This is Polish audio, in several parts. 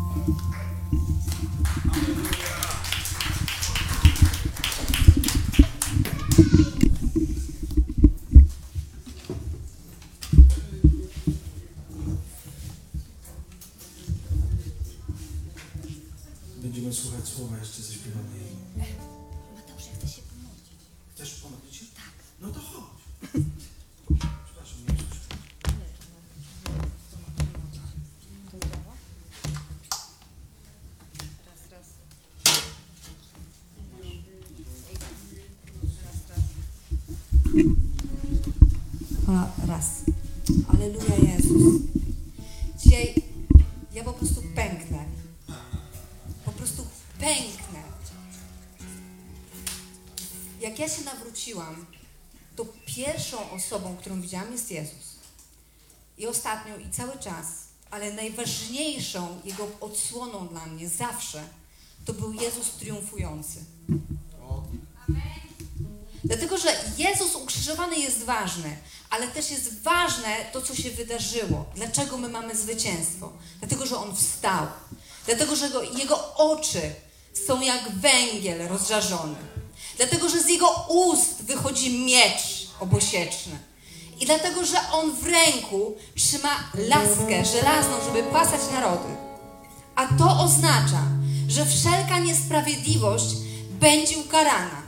Będziemy słuchać słowa jeszcze zaśpiewane. Mateusz, ja chcę się pomodlić. Chcesz pomodlić się? Tak. No to chodź. Przepraszam, nie słyszę. Raz. Alleluja, Jezus. Dzisiaj ja po prostu pęknę. Po prostu pęknę. Jak ja się nawróciłam, to pierwszą osobą, którą widziałam, jest Jezus. I ostatnią, i cały czas, ale najważniejszą Jego odsłoną dla mnie zawsze, to był Jezus triumfujący. Dlatego, że Jezus ukrzyżowany jest ważny, ale też jest ważne to, co się wydarzyło. Dlaczego my mamy zwycięstwo? Dlatego, że On wstał. Dlatego, że Jego oczy są jak węgiel rozżarzony. Dlatego, że z Jego ust wychodzi miecz obosieczny. I dlatego, że On w ręku trzyma laskę żelazną, żeby pasać narody. A to oznacza, że wszelka niesprawiedliwość będzie ukarana.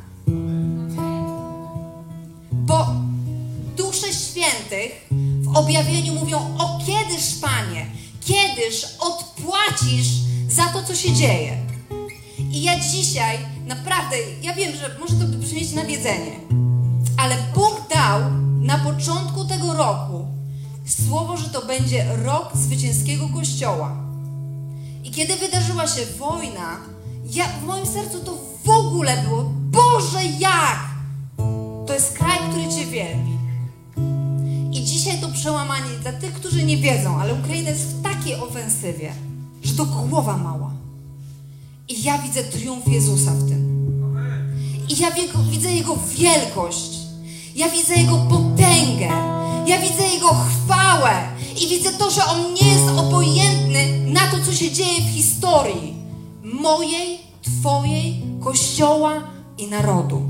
Bo dusze świętych w objawieniu mówią: o kiedyż, Panie, kiedyż odpłacisz za to, co się dzieje. I ja dzisiaj naprawdę, ja wiem, że może to brzmieć nawiedzenie, ale Bóg dał na początku tego roku słowo, że to będzie rok zwycięskiego Kościoła. I kiedy wydarzyła się wojna, w moim sercu to w ogóle było: Boże, jak? To jest kraj, który Cię wielbi. I dzisiaj to przełamanie dla tych, którzy nie wiedzą, ale Ukraina jest w takiej ofensywie, że to głowa mała. I ja widzę triumf Jezusa w tym. I ja widzę Jego wielkość. Ja widzę Jego potęgę. Ja widzę Jego chwałę. I widzę to, że On nie jest obojętny na to, co się dzieje w historii mojej, Twojej, Kościoła i narodu.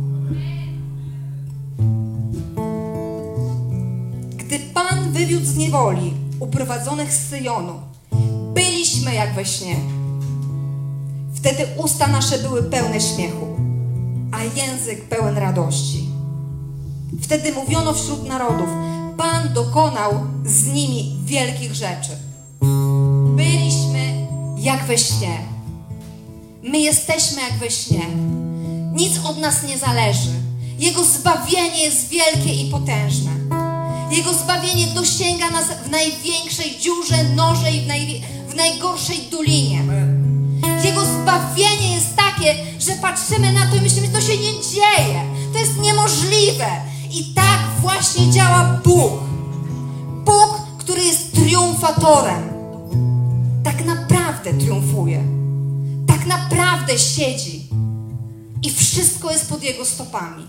Gdy Pan wywiódł z niewoli uprowadzonych z Syjonu, byliśmy jak we śnie. Wtedy usta nasze były pełne śmiechu, a język pełen radości. Wtedy mówiono wśród narodów: Pan dokonał z nimi wielkich rzeczy. Byliśmy jak we śnie. My jesteśmy jak we śnie. Nic od nas nie zależy. Jego zbawienie jest wielkie i potężne. Jego zbawienie dosięga nas w największej dziurze, noże i w najgorszej dolinie. Jego zbawienie jest takie, że patrzymy na to i myślimy, że to się nie dzieje. To jest niemożliwe. I tak właśnie działa Bóg. Bóg, który jest triumfatorem. Tak naprawdę triumfuje. Tak naprawdę siedzi. I wszystko jest pod Jego stopami.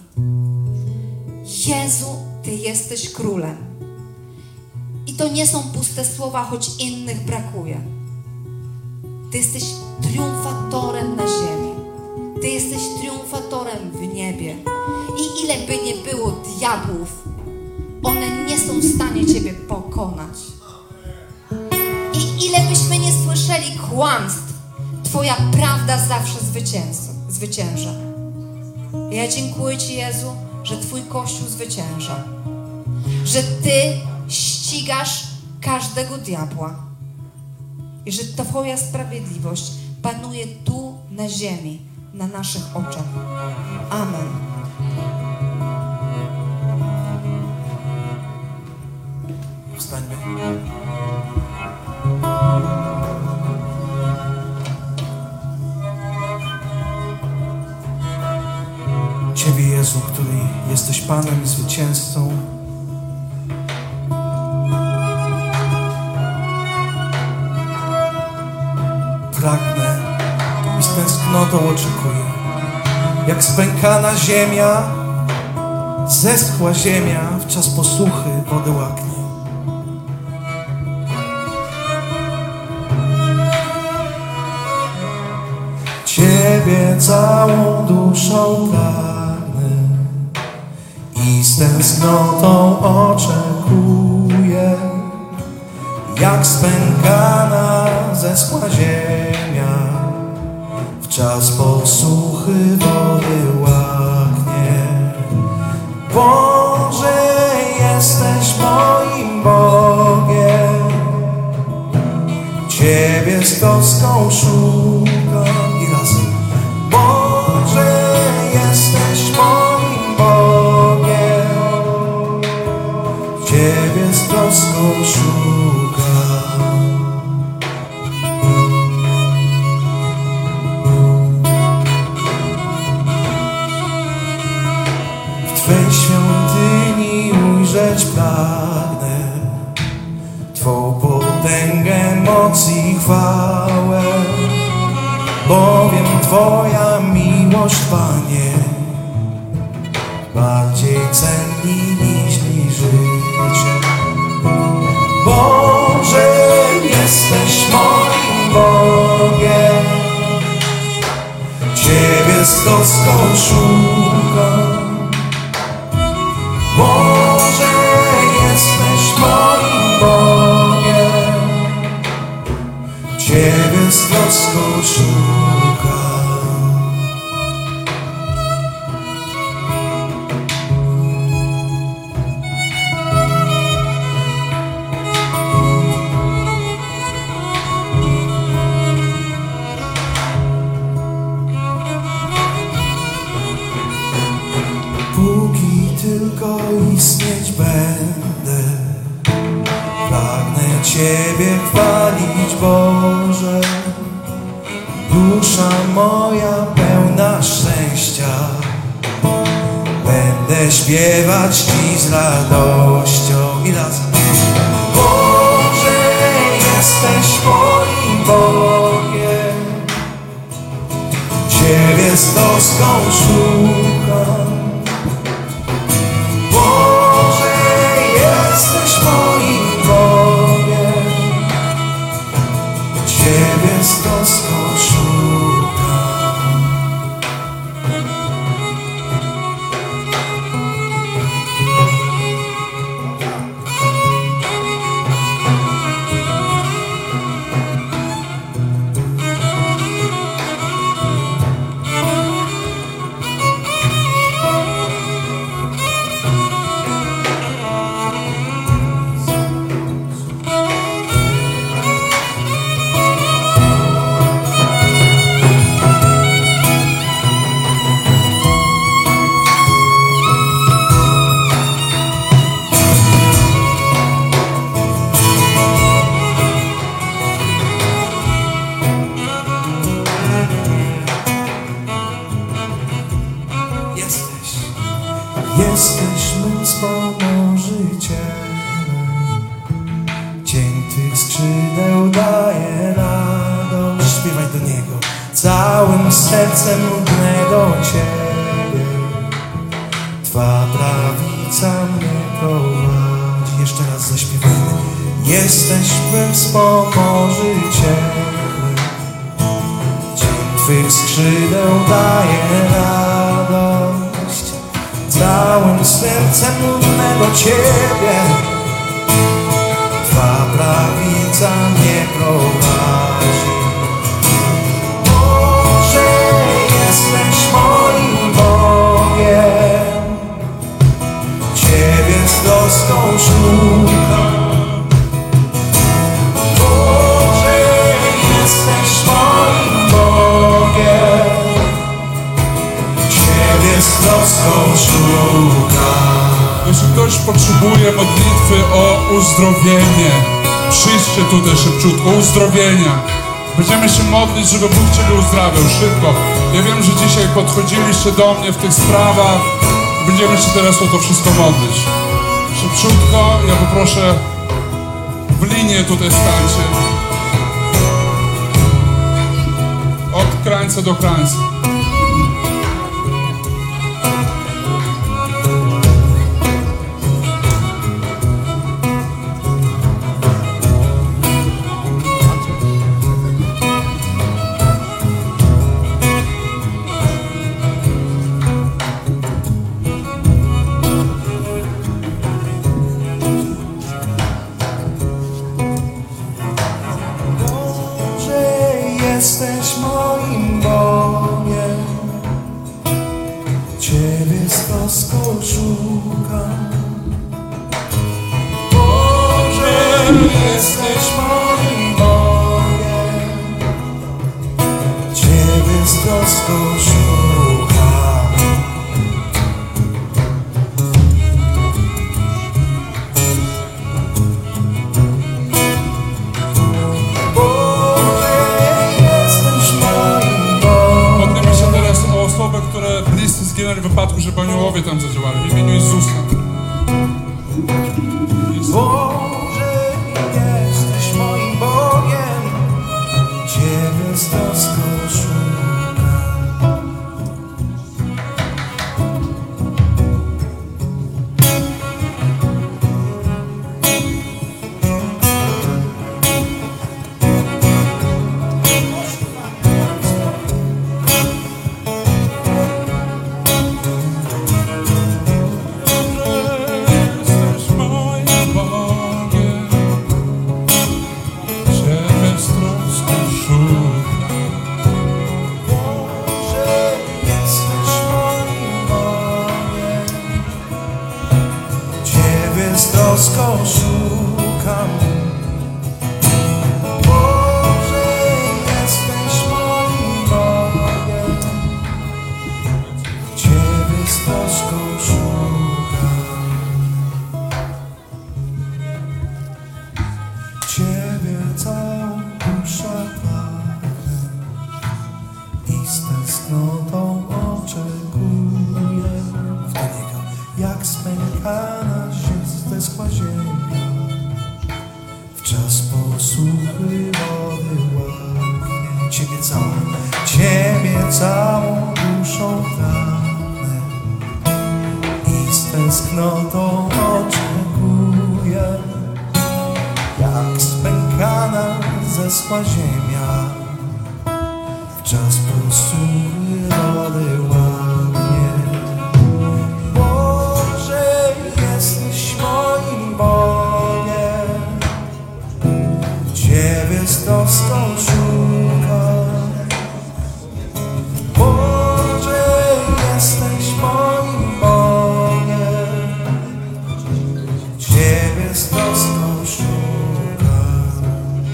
Jezu, Ty jesteś królem. I to nie są puste słowa, choć innych brakuje. Ty jesteś triumfatorem na ziemi. Ty jesteś triumfatorem w niebie. I ile by nie było diabłów, one nie są w stanie Ciebie pokonać. I ile byśmy nie słyszeli kłamstw, Twoja prawda zawsze zwycięża. Ja dziękuję Ci, Jezu, że Twój Kościół zwycięża. Że Ty ścigasz każdego diabła. I że Twoja sprawiedliwość panuje tu na ziemi, na naszych oczach. Amen. Wstańmy. Ciebie, Jezu, który jesteś Panem i zwycięzcą, pragnę i z tęsknotą oczekuję, jak spękana ziemia, zeschła ziemia w czas posuchy, wodę łaknie. Ciebie całą duszą pragnę i z tęsknotą oczekuję, jak spękana zeschła ziemia, w czas posuchy wody łaknie. Boże, jesteś moim Bogiem, Ciebie z troską szukam i razem. Boże, jesteś moim Bogiem, Ciebie z troską szukam. W Twej świątyni ujrzeć pragnę Twą potęgę, moc i chwałę, bowiem Twoja miłość, Panie, bardziej ceni niż życie. Boże, jesteś moim Bogiem, Ciebie z troską szukam. Boże, jesteś moim Bogiem, Ciebie z troską szukam. Póki tylko istnieć będę, pragnę Ciebie chwalić, Boże. Dusza moja pełna szczęścia, będę śpiewać Ci z radością i razem. Boże, jesteś moim Bogiem, Ciebie z troską szukam. Boże, jesteś moim Bogiem, Ciebie z troską szukam. Jesteś mym wspomożycielem, cień Twych skrzydeł daje radość. Śpiewaj do Niego. Całym sercem gnę do Ciebie, Twa prawica mnie prowadzi. Jeszcze raz zaśpiewajmy. Jesteś mym wspomożycielem, cień Twych skrzydeł daje radość. Całym sercem gnę do Ciebie, Twa prawica mnie prowadzi. Boże, jesteś moim Bogiem, Ciebie z troską szukam. Boże, jesteś moim Bogiem, Ciebie z troską szukam. Jeśli ktoś potrzebuje modlitwy o uzdrowienie, przyjdźcie tutaj szybciutko, uzdrowienia. Będziemy się modlić, żeby Bóg Ciebie uzdrawiał szybko. Ja wiem, że dzisiaj podchodziliście do mnie w tych sprawach. Będziemy się teraz o to wszystko modlić. Szybciutko, ja poproszę, w linię tutaj stańcie. Od krańca do krańca. jesteś moim Bogiem, Ciebie z troską szukam. Boże, jesteś moim Bogiem, Ciebie z troską szukam. Które bliscy zginęli w wypadku, żeby aniołowie tam zadziałali. W imieniu Jezusa. Boże, jesteś moim Bogiem, Ciebie z troską szukam. Z troską szukam. Boże, jesteś moim Bogiem, Ciebie z troską szukam. Ciebie całą duszę pragnę i z tęsknotą oczekuję w Niego, jak spękana zeschła ziemia, w czas posuchy wody łaknie. Ciebie całą duszą pragnę i z tęsknotą oczekuję, jak spękana zeschła ziemia, w czas posuchy wody łaknie. Jesteś moim Bogiem, Ciebie z troską szukam. Boże, jesteś moim Bogiem, Ciebie z troską szukam.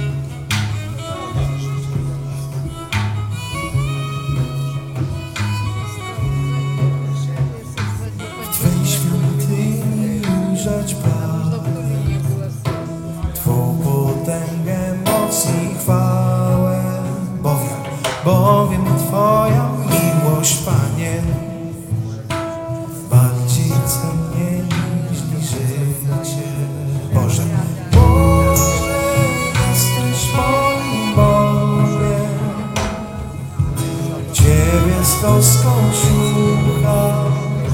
W Twej świątyni ujrzeć pragnę Twą potęgę, moc i chwałę, bowiem Twoja miłość, Panie, bardziej cennie niż życie. Boże, jesteś moim Bogiem, Ciebie z troską szukam.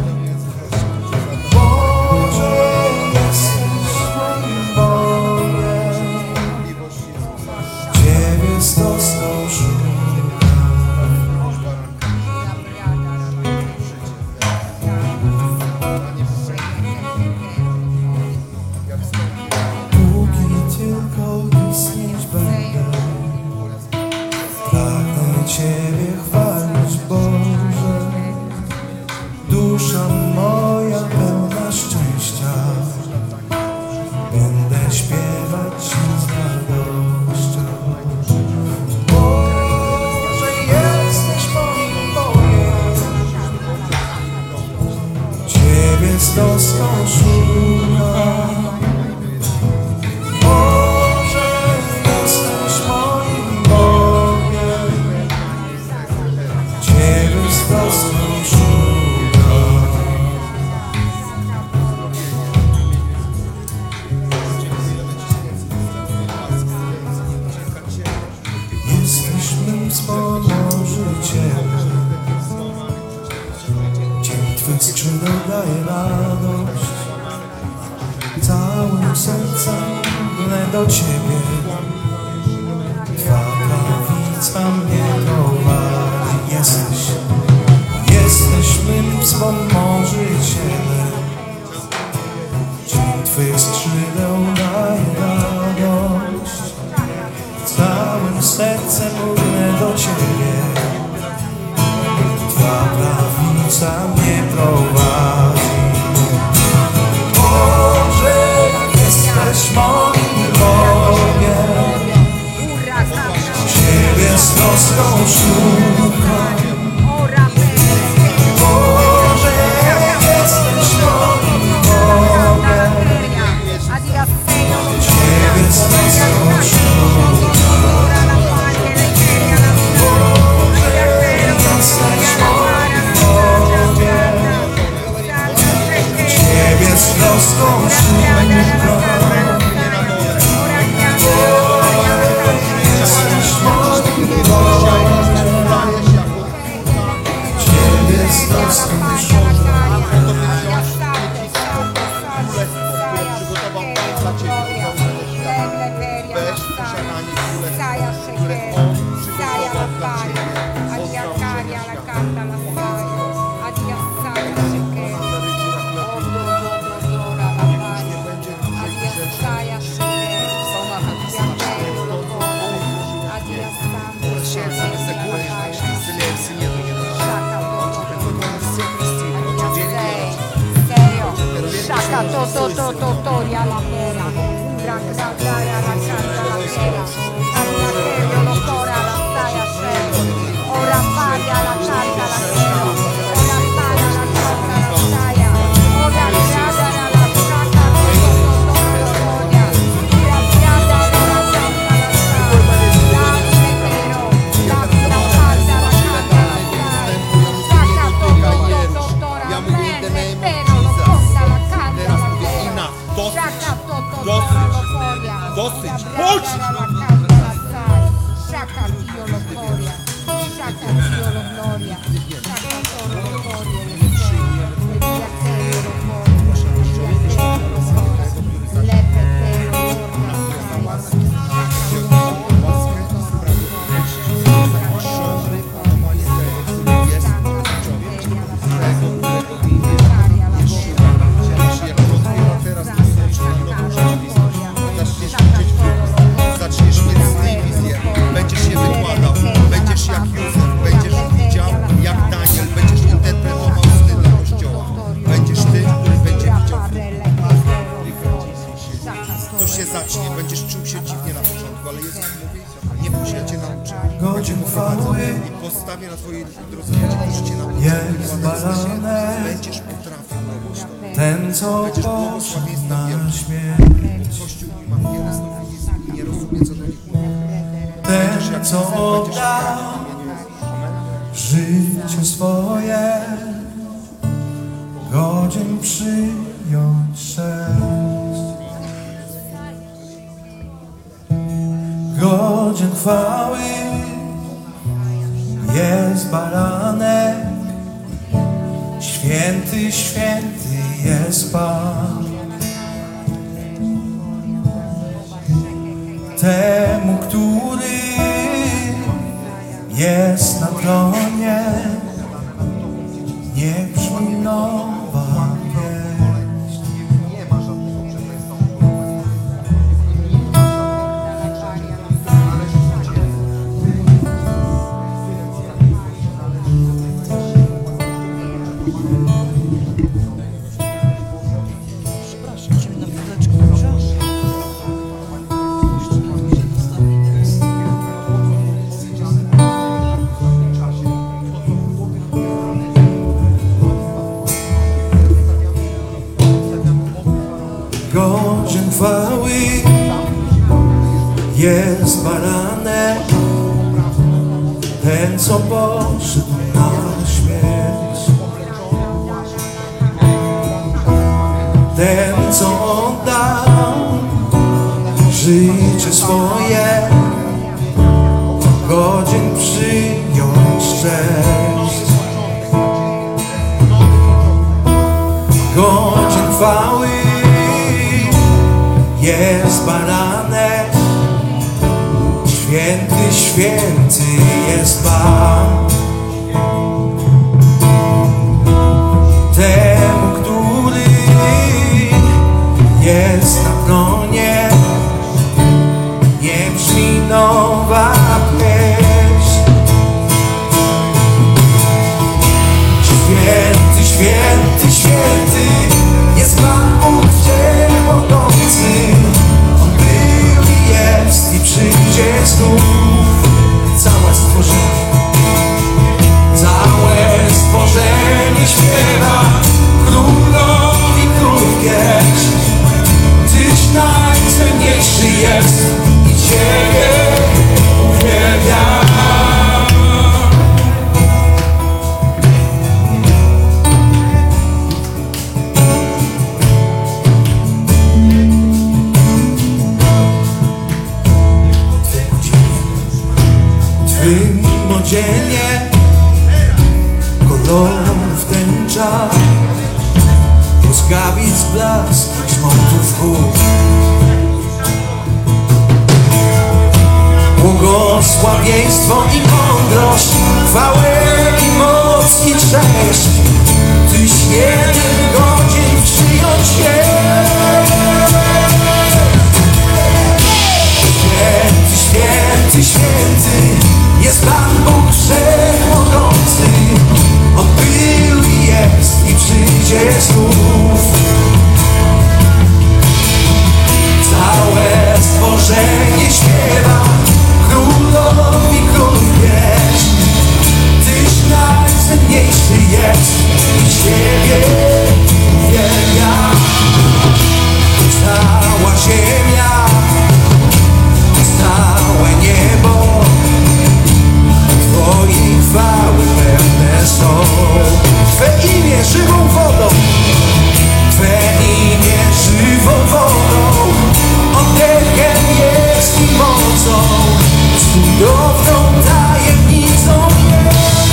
Z troską szukam. Póki tylko istnieć będę, pragnę Ciebie chwalić, Boże. Dusza moja pełna szczęścia, będę śpiewać Ci z radością. Ciebie z troską szukam. Boże, jesteś moim Bogiem, Ciebie z troską szukam. Jesteś mym wspomożycielem, Twych skrzydeł daje radość, całym sercem gnę do Ciebie. Twa prawica mnie prowadzi. Jesteś mym wspomożycielem, cień Twych skrzydeł daje radość, całym sercem gnę do troską szukam. Boże, jesteś moim Bogiem. Ciebie z troską szukam. Boże, jesteś moim Bogiem. Ciebie z troską szukam. Toria la pera, Raccaia la canta la pera, Annacherio lo cora la staia scemo, ora paria la canta la pera, ora paria la canta la staia, ora piada la canta la storia, ora piada la canta la staia, la pero, la canta la canta la staia, Racca totora, pero lo conta la canta la pera. Dosyć! Chodź! Sciacca Dio lo gloria, sciacca Dio lo gloria, sciacca Dio lo gloria, zacznie, będziesz czuł się dziwnie na początku, ale Jezus mówi, nie bój się, ja cię nauczę. Godzin chwały I postawię na twojej drodze ludzi, którzy cię nauczą. jest baranek, Będziesz potrafił robić to. ten co Będziesz poszedł błogosławieństwa na wielki. śmierć. Kościół ma wiele stanowisk i nie rozumie, co do nich mówi. Ten co oddał życie swoje, godzin przyjąć chrzest. Godzin chwały jest baranek, święty, święty jest Pan. Temu, który jest na tronie, nie brzmi nowa pieśń. Godzin chwały jest baranek, ten co poszedł na śmierć. Ten co oddał życie swoje, godzin przyjąć cześć. Godzin chwały jest baranek, święty, święty jest Pan. Temu, który jest na tronie, nie brzmi nowa pieśń. Święty, święty, święty jest Pan Bóg Wszechmogący. On był i jest i przyjdzie znów. Cała stworzona samodzielnie, kolorów tęcza, błyskawic blask, grzmotów chód. Błogosławieństwo i mądrość, chwałę i moc i cześć, Tyś jeden godzin przyjąć się. Święty, święty, święty jest Pan Bóg Wszechmogący. On był i jest i przyjdzie znów. Całe stworzenie śpiewa Królowi królów pieśń. Tyś najcenniejszy jest i Ciebie uwielbia. Cała ziemia, całe niebo Twojej chwały pełne są. Twe imię żywą wodą, Twe imię żywą wodą, oddechem jest i mocą, cudowną tajemnicą jest.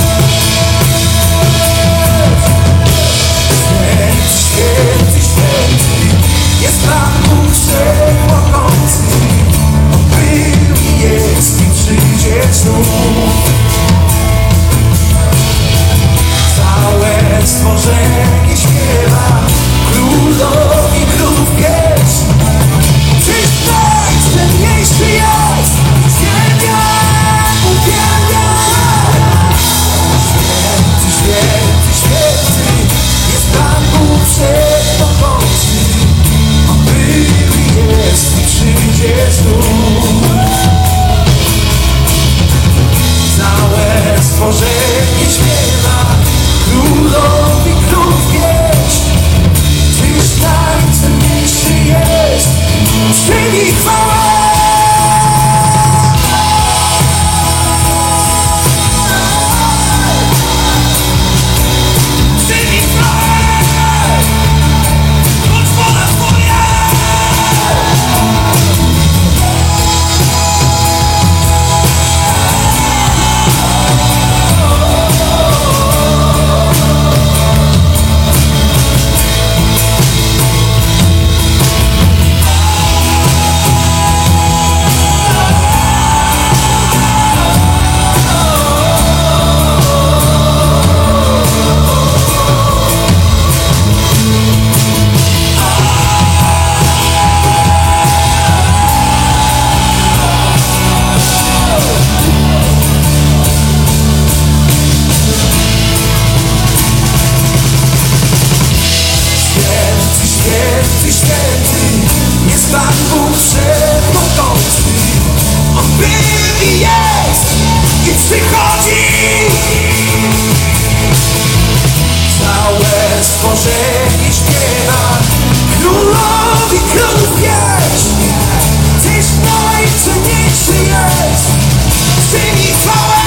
Święty, święty, święty jest Pan Bóg Wszechmogący. On był i jest i przyjdzie znów. Całe stworzenie śpiewa Królowi królów pieśń. Czyś najcenniejszy jest, ziemia uwielbia. Święty, święty, święty jest Pan Bóg Wszechmogący. On był i jest i przyjdzie znów. Całe stworzenie śpiewa Królowi królów pieśń. Tyś najcenniejszy jest, przyjmij chwałę. Przyjmij chwałę, bądź wola Twoja. Święty, święty jest Pan Bóg Wszechmogący. On był i jest i przychodzi. Całe stworzenie śpiewa Królowi królów pieśń. Tyś najcenniejszy jest, przyjmij chwałę.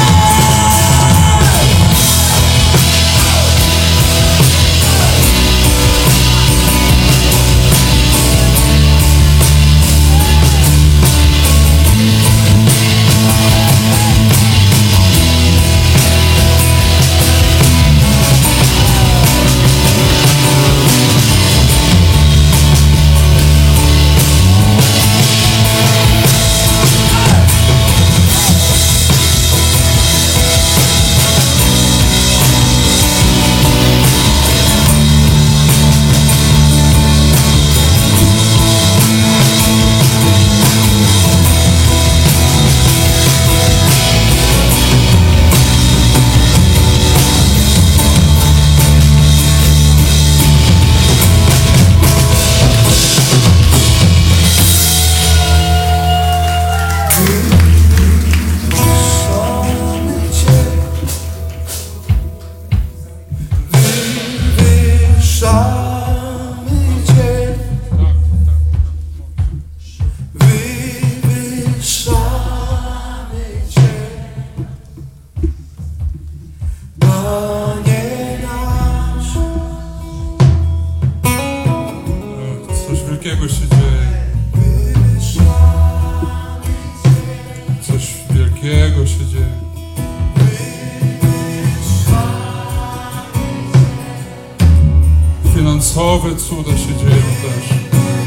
finansowe cuda się dzieją też.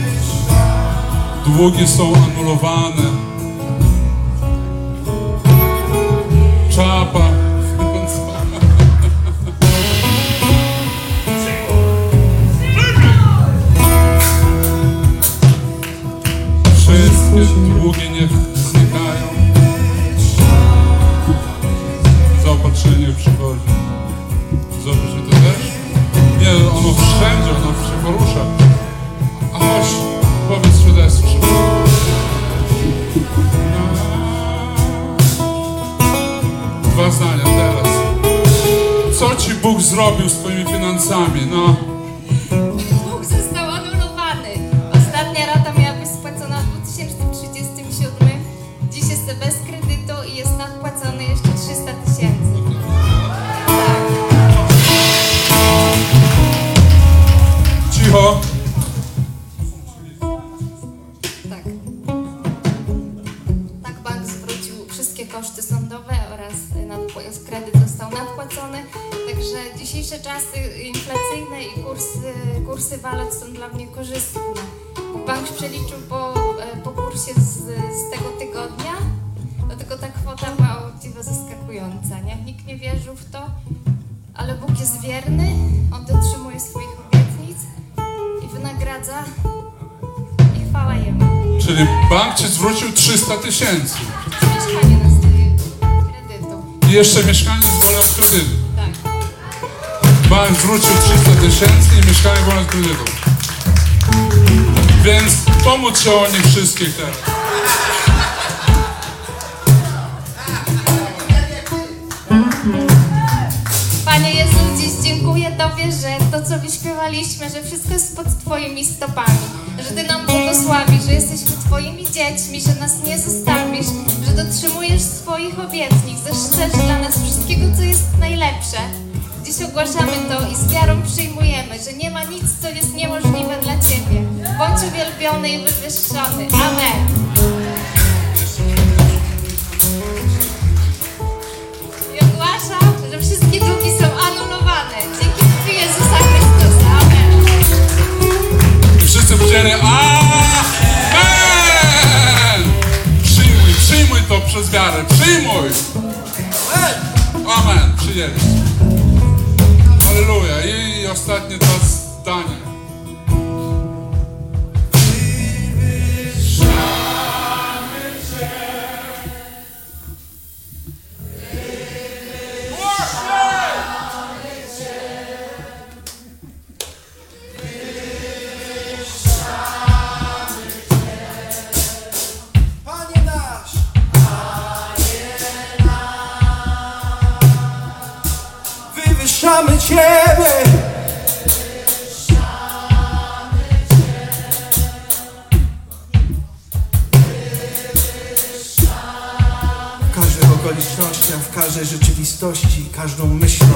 Długi są anulowane. Czapa finansowa. Wszystkie długi niech znikają. Zaopatrzenie przychodzi. Zobacz, że to też? Nie, ono wszędzie, ono się porusza. A chodź, powiedz świadectwo szybko. Dwa zdania teraz. Co ci Bóg zrobił z twoimi finansami? No. Dług został anulowany. Ostatnia rata miała być spłacona w 2037. Dziś jest bez kredytu i jest nadpłacony jeszcze 300 000. Tak. Cicho. Tak. Tak, bank zwrócił wszystkie koszty sądowe oraz kredyt został nadpłacony. Także dzisiejsze czasy inflacyjne i kursy walut są dla mnie korzystne. Bank przeliczył po kursie z tego tygodnia, dlatego ta kwota była właściwie zaskakująca. Nie? Nikt nie wierzył w to, ale Bóg jest wierny, On dotrzymuje swoich obietnic i wynagradza i chwała Jemu. Czyli bank ci zwrócił 300 000. Mieszkanie na kredytu. I jeszcze mieszkanie z wolą od kredytu. Tak. Bank zwrócił 300 000 i mieszkanie wolne od kredytu. Więc pomóc się o nich wszystkich teraz. Panie Jezu, dziś dziękuję Tobie, że to, co wyśpiewaliśmy, że wszystko jest pod Twoimi stopami, że Ty nam błogosławisz, że jesteśmy Twoimi dziećmi, że nas nie zostawisz, że dotrzymujesz swoich obietnic, że chcesz dla nas wszystkiego, co jest najlepsze. Dziś ogłaszamy to i z wiarą przyjmujemy, że nie ma nic, co jest niemożliwe dla Ciebie. Bądź uwielbiony i wywyższony. Amen. I ogłaszam, że wszystkie długi są anulowane. Dzięki krwi Jezusa Chrystusa. Amen. I wszyscy powiedzieli amen! Przyjmuj to przez wiarę. Przyjmuj! Amen. Przyjęliście. Halleluja. I ostatnie dwa zdania. Panie nasz! Wywyższamy Ciebie! W każdych okolicznościach, w każdej rzeczywistości, każdą myślą.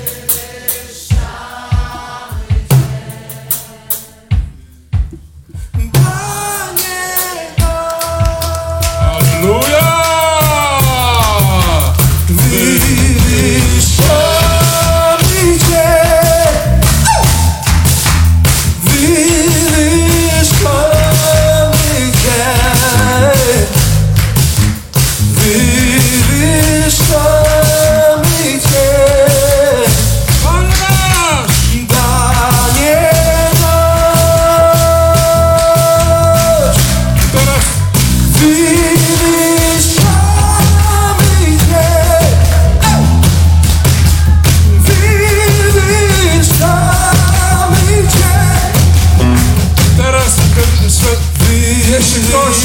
Halleluja! Wywyższamy Cię! Wywyższamy Cię! Wywyższamy Cię! Pan nasz! Panie nasz! Teraz Wywyższamy Cię! Wywyższamy Cię! jeśli ktoś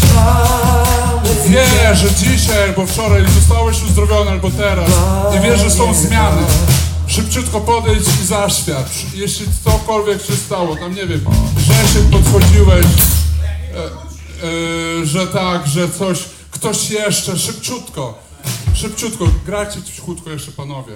wie, że dzisiaj albo wczoraj zostałeś uzdrowiony, albo teraz i wie, że są zmiany, szybciutko podejdź i zaświadcz. Jeśli cokolwiek się stało, tam nie wiem, że się podchodziłeś, że tak, że coś, ktoś jeszcze, szybciutko, grajcie cichutko jeszcze panowie.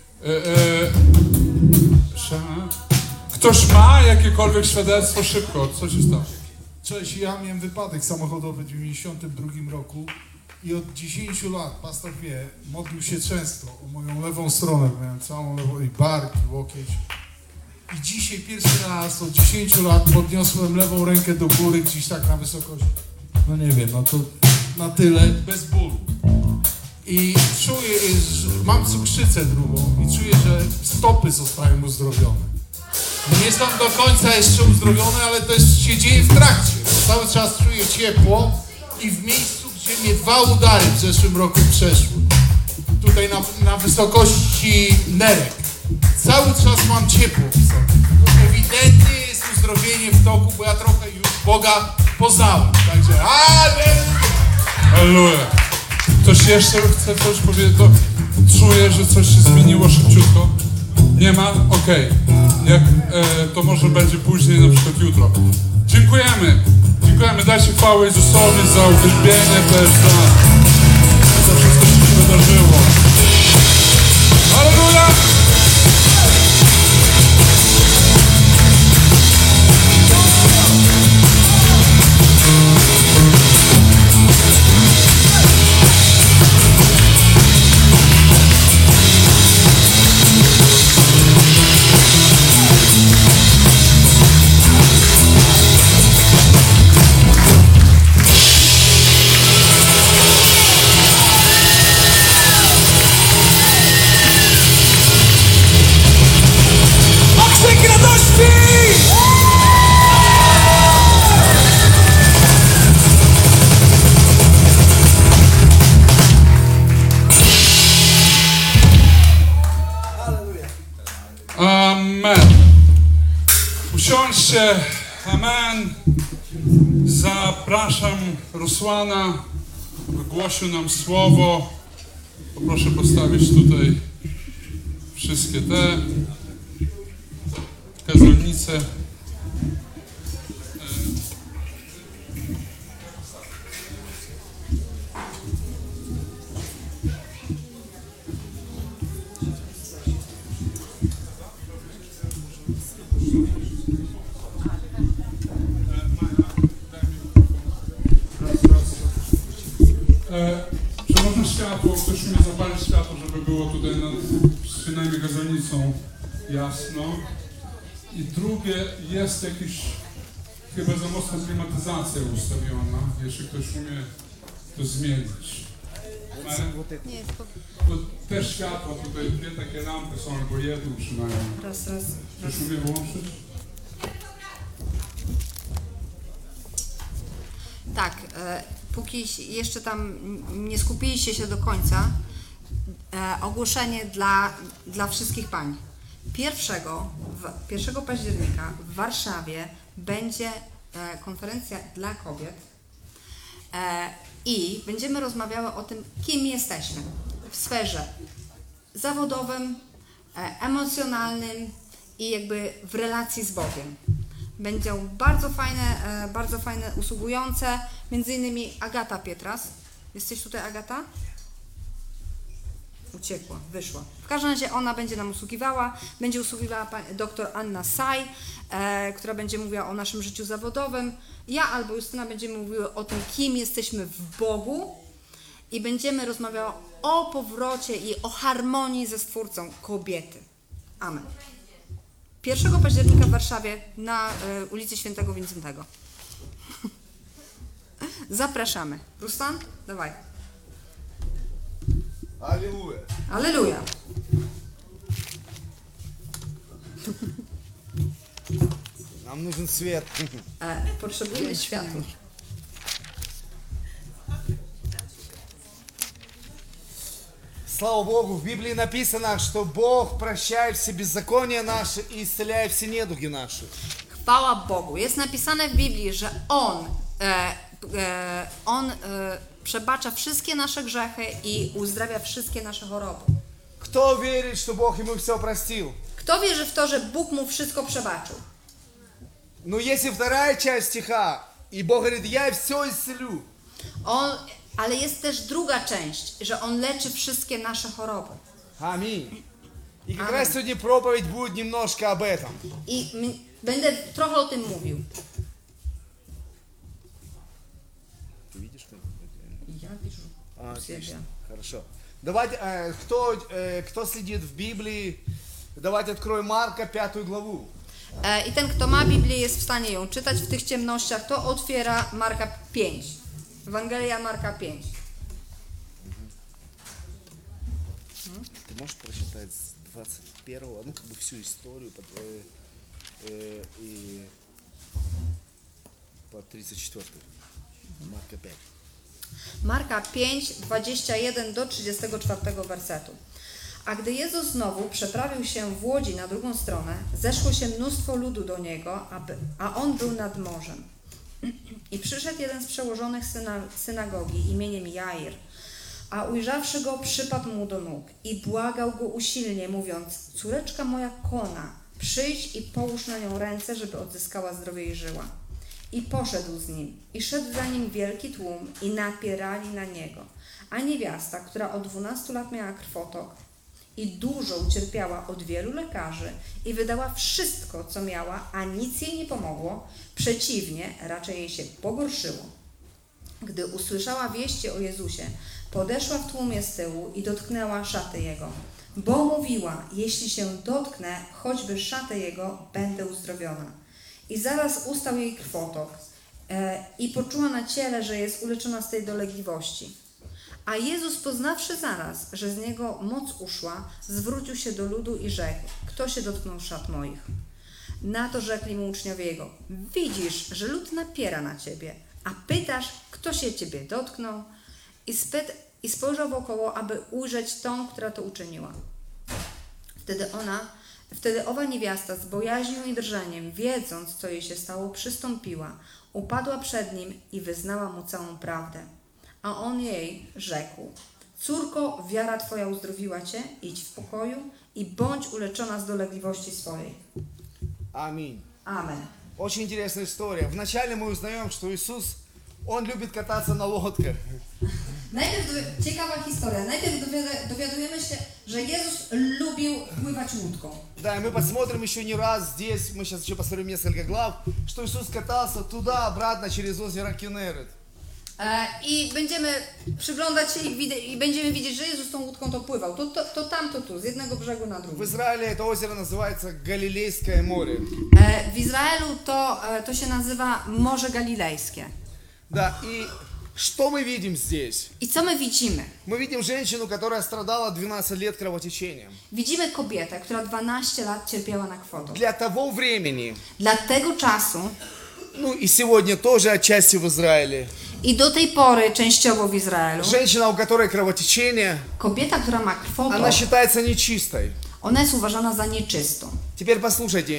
Ktoś ma jakiekolwiek świadectwo? Szybko, co się stało? Cześć, ja miałem wypadek samochodowy w 92 roku i od 10 lat, pastor wie, modlił się często o moją lewą stronę, miałem całą lewą i bark, i łokieć. I dzisiaj pierwszy raz od 10 lat podniosłem lewą rękę do góry gdzieś tak na wysokość, no nie wiem, no to na tyle, bez bólu. I czuję, że mam cukrzycę drugą i czuję, że stopy zostają uzdrowione. Nie są do końca jeszcze uzdrowione, ale to jest, się dzieje w trakcie. Cały czas czuję ciepło i w miejscu, gdzie mnie 2 udary w zeszłym roku przeszły. Tutaj na wysokości nerek. Cały czas mam ciepło w sobie. Ewidentnie jest uzdrowienie w toku, bo ja trochę już Boga poznałem. Także Halleluja. Ktoś jeszcze chce coś powiedzieć? To czuję, że coś się zmieniło szybciutko. Nie ma? Okej. To może będzie później, na przykład jutro. Dziękujemy. Dziękujemy. Dajcie chwałę Jezusowi za uwielbienie też, za wszystko, co się wydarzyło. Halleluja! Amen. Usiądźcie. Amen. Zapraszam Rusłana, wygłosił nam słowo. Poproszę postawić tutaj wszystkie te kazalnice. Czy można światło, ktoś umie zapalić światło, żeby było tutaj nad przynajmniej gazownicą jasno. I drugie, jest jakiś, chyba za mocna klimatyzacja ustawiona, jeśli ktoś umie to zmienić. Bo te światła tutaj, 2 takie lampy są, albo jedną przynajmniej. Raz. Ktoś umie włączyć? Tak, póki jeszcze tam nie skupiliście się do końca, ogłoszenie dla wszystkich pań. 1 października w Warszawie będzie konferencja dla kobiet i będziemy rozmawiały o tym, kim jesteśmy w sferze zawodowym, emocjonalnym i jakby w relacji z Bogiem. Będą bardzo fajne, usługujące, między innymi Agata Pietras. Jesteś tutaj, Agata? Uciekła, wyszła. W każdym razie ona będzie nam usługiwała. Będzie usługiwała dr Anna Saj, która będzie mówiła o naszym życiu zawodowym. Ja albo Justyna będziemy mówiły o tym, kim jesteśmy w Bogu i będziemy rozmawiały o powrocie i o harmonii ze Stwórcą kobiety. Amen. 1 października w Warszawie na ulicy Świętego Wincentego. Zapraszamy. Ruslan, dawaj. Аллилуйя. Alleluja. Нам нужен свет. Potrzebujemy światła. Слава Богу, в Библии написано, что Бог прощает все беззакония наши и исцеляет все недуги наши. Chwała Bogu. Jest napisane w Biblii, że On przebacza wszystkie nasze grzechy i uzdrawia wszystkie nasze choroby. Кто верит, что Бог ему все простил? Kto wierzy w to, że Bóg mu wszystko przebaczył? Но если вторая часть стиха, и Бог говорит, я все исцелю. Ale jest też druga część, że On leczy wszystkie nasze choroby. Аминь. И как Аминь. раз сегодня проповедь будет немножко об этом. I będę trochę o tym mówił. Ты видишь, что? Ja piszę. Отлично. Хорошо. Давайте, кто следит в Библии, давайте откроем Марка 5 главу. I ten, kto ma Biblię, jest w stanie ją czytać w tych ciemnościach, to otwiera Marka 5. Ewangelia Marka 5. Ты можешь прочитать с 21, ну как бы всю историю и по 34. Марка 5. Marka 5, 21 do 34 wersetu. A gdy Jezus znowu przeprawił się w łodzi na drugą stronę, zeszło się mnóstwo ludu do Niego, a On był nad morzem. I przyszedł jeden z przełożonych synagogi imieniem Jair, a ujrzawszy Go, przypadł Mu do nóg i błagał Go usilnie, mówiąc: córeczka moja kona, przyjdź i połóż na nią ręce, żeby odzyskała zdrowie i żyła. I poszedł z nim, i szedł za nim wielki tłum, i napierali na niego. A niewiasta, która od 12 lat miała krwotok i dużo ucierpiała od wielu lekarzy i wydała wszystko, co miała, a nic jej nie pomogło, przeciwnie, raczej jej się pogorszyło. Gdy usłyszała wieści o Jezusie, podeszła w tłumie z tyłu i dotknęła szaty Jego, bo mówiła: jeśli się dotknę choćby szaty Jego, będę uzdrowiona. I zaraz ustał jej krwotok i poczuła na ciele, że jest uleczona z tej dolegliwości. A Jezus, poznawszy zaraz, że z Niego moc uszła, zwrócił się do ludu i rzekł: kto się dotknął szat moich? Na to rzekli Mu uczniowie Jego: widzisz, że lud napiera na Ciebie, a pytasz, kto się Ciebie dotknął? I spojrzał wokoło, aby ujrzeć tą, która to uczyniła. Wtedy owa niewiasta z bojaźnią i drżeniem, wiedząc, co jej się stało, przystąpiła, upadła przed Nim i wyznała Mu całą prawdę. A On jej rzekł: córko, wiara Twoja uzdrowiła Cię, idź w pokoju i bądź uleczona z dolegliwości swojej. Аминь. Amen. Очень интересная история. Вначале мы узнаем, что Иисус, Он любит кататься на лодках. Ciekawa historia. Najpierw dowiadujemy się, że Jezus lubił pływać łódką. Да, и мы посмотрим еще не раз здесь, мы сейчас еще посмотрим несколько глав, что Иисус катался туда-обратно через озеро Кенерет. I będziemy przyglądać się i będziemy widzieć, że Jezus tą łódką to pływał. To tam, to tu, z jednego brzegu na drugi. В Израиле это озеро называется Галилейское море. W Izraelu to się nazywa Morze Galilejskie. Да, и что мы видим здесь? I co my widzimy? Мы видим женщину, которая страдала 12 лет кровотечением. Widzimy kobietę, która 12 lat cierpiała na kwotok. Для того времени, Dla tego czasu ну и сегодня тоже отчасти в Израиле, i do tej pory częściowo w Izraelu, женщина, у которой кровотечение, kobieta, która ma kwotok, она считается нечистой. ona jest uważana za nieczystą. Теперь послушайте,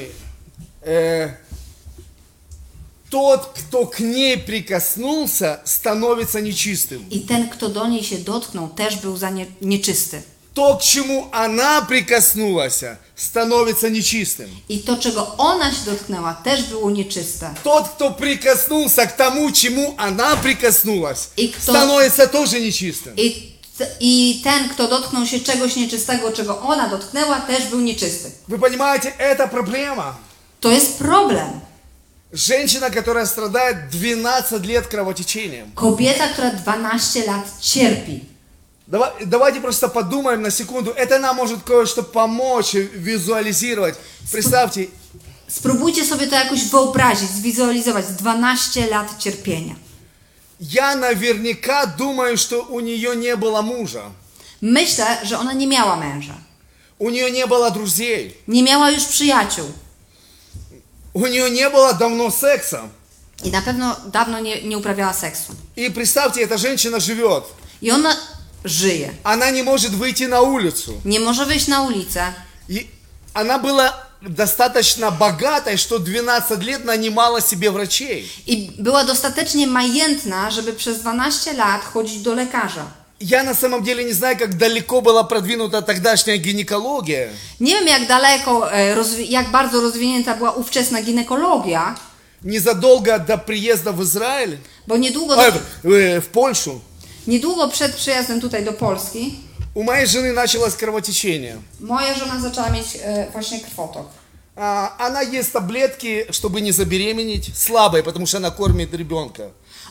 тот, кто к ней прикоснулся, становится нечистым. I ten, kto do niej się dotknął, też był za nieczysty. То, к чему она прикоснулась, становится нечистым. I to, czego ona się dotknęła, też było nieczyste. Тот, кто прикоснулся к тому, чему она прикоснулась, И кто- становится тоже нечистым. I ten, kto dotknął się czegoś nieczystego, czego ona dotknęła, też był nieczysty. Вы понимаете, это проблема. To jest problem. Женщина, которая страдает 12 лет кровотечением. Kobieta, która 12 lat cierpi. Давайте просто подумаем на секунду. Это нам может кое-что помочь визуализировать. Представьте, Spróbujcie sobie to jakoś wyobrazić, zwizualizować. 12 lat cierpienia. я наверняка думаю, что у нее не было мужа. Myślę, że ona nie miała męża. У нее не было друзей. Nie miała już przyjaciół. У нее не было давно секса. I na pewno dawno nie uprawiała seksu. И представьте, эта женщина живет. I ona żyje. Она не может wyjти на улицу. Nie może wyjść na ulicę. И она была достаточно богатой, что 12 лет нанимала себе врачей. I była dostatecznie majętna, żeby przez 12 lat chodzić do lekarza. Я на самом деле не знаю, как далеко была продвинута тогдашняя гинекология. Nie wiem, jak daleko, jak bardzo rozwinięta była ówczesna ginekologia, Незадолго до приезда в Израиль, bo в Польшу, niedługo przed przyjazdem tutaj do Polski у моей жены началось кровотечение. moja żona zaczęła mieć właśnie krwotok. Она ест таблетки, чтобы не забеременеть, слабой, потому что она кормит ребенка.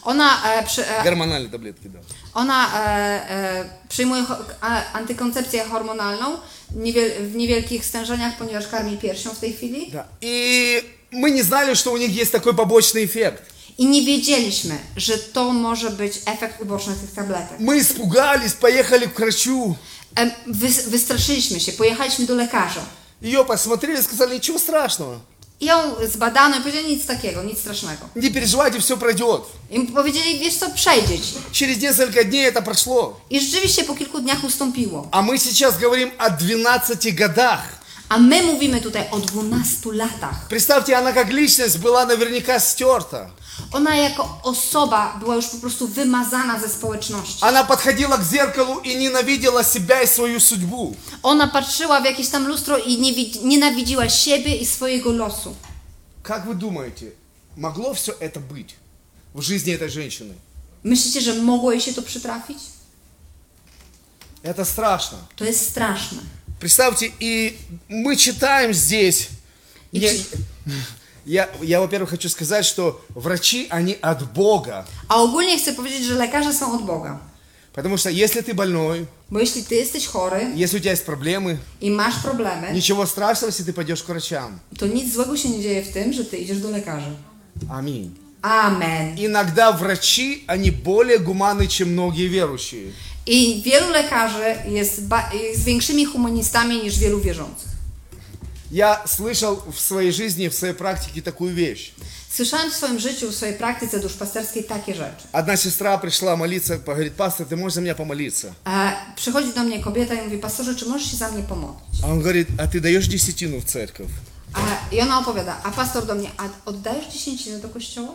Гормональные таблетки, да. Ona przyjmuje antykoncepcję hormonalną w niewielkich stężeniach, ponieważ karmi piersią w tej chwili. Да. И мы не знали, что у них есть такой побочный эффект. I nie wiedzieliśmy, że to może być efekt uboczny tych tabletek. Мы испугались, поехали к врачу. Wystraszyliśmy się, pojechaliśmy do lekarza. Ее посмотрели и сказали, ничего страшного. I ją zbadano i powiedzieli nic takiego, nic strasznego. Не переживайте, все пройдет. I powiedzieli, wiesz co, przejdzie ci. Через несколько дней это прошло. I rzeczywiście po kilku dniach ustąpiło. А мы сейчас говорим о 12 годах. A my mówimy tutaj o 12 latach. Представьте, она как личность была наверняка стерта. Ona jako osoba była już po prostu wymazana ze społeczności. Она подходила к зеркалу и ненавидела себя и свою судьбу. Ona patrzyła w jakieś tam lustro i nienawidziła siebie i swojego losu. Как вы думаете, могло все это быть в жизни этой женщины? Myślicie, że mogło jej się to przytrafić? Это страшно. To jest straszne. Представьте, и мы читаем здесь. Я, во-первых, хочу сказать, что врачи, они от Бога. A ogólnie chcę powiedzieć, że lekarze są od Boga. Потому что если ты больной, Bo jeśli ty jesteś chory если у тебя есть проблемы, i masz problemy, ничего страшного, если ты пойдешь к wрачам. to nic złego się nie dzieje w tym, że ty idziesz do lekarza. Аминь. Amen. Иногда врачи, они более гуманны, чем многие верующие. I wielu lekarzy jest większymi humanistami niż wielu wierzących. Я слышал в своей жизни, в своей практике такую вещь. Słyszałem w swoim życiu, w swojej praktyce duszpasterskiej takie rzeczy. Одна сестра пришла молиться, говорит, пастор, ты можешь за меня помолиться? Przychodzi do mnie kobieta i mówi, pastorze, czy możesz się za mnie pomodlić? А он говорит, а ты даешь десятину в церковь? I ona opowiada, a pastor do mnie, a oddajesz dziesięcinę do kościoła?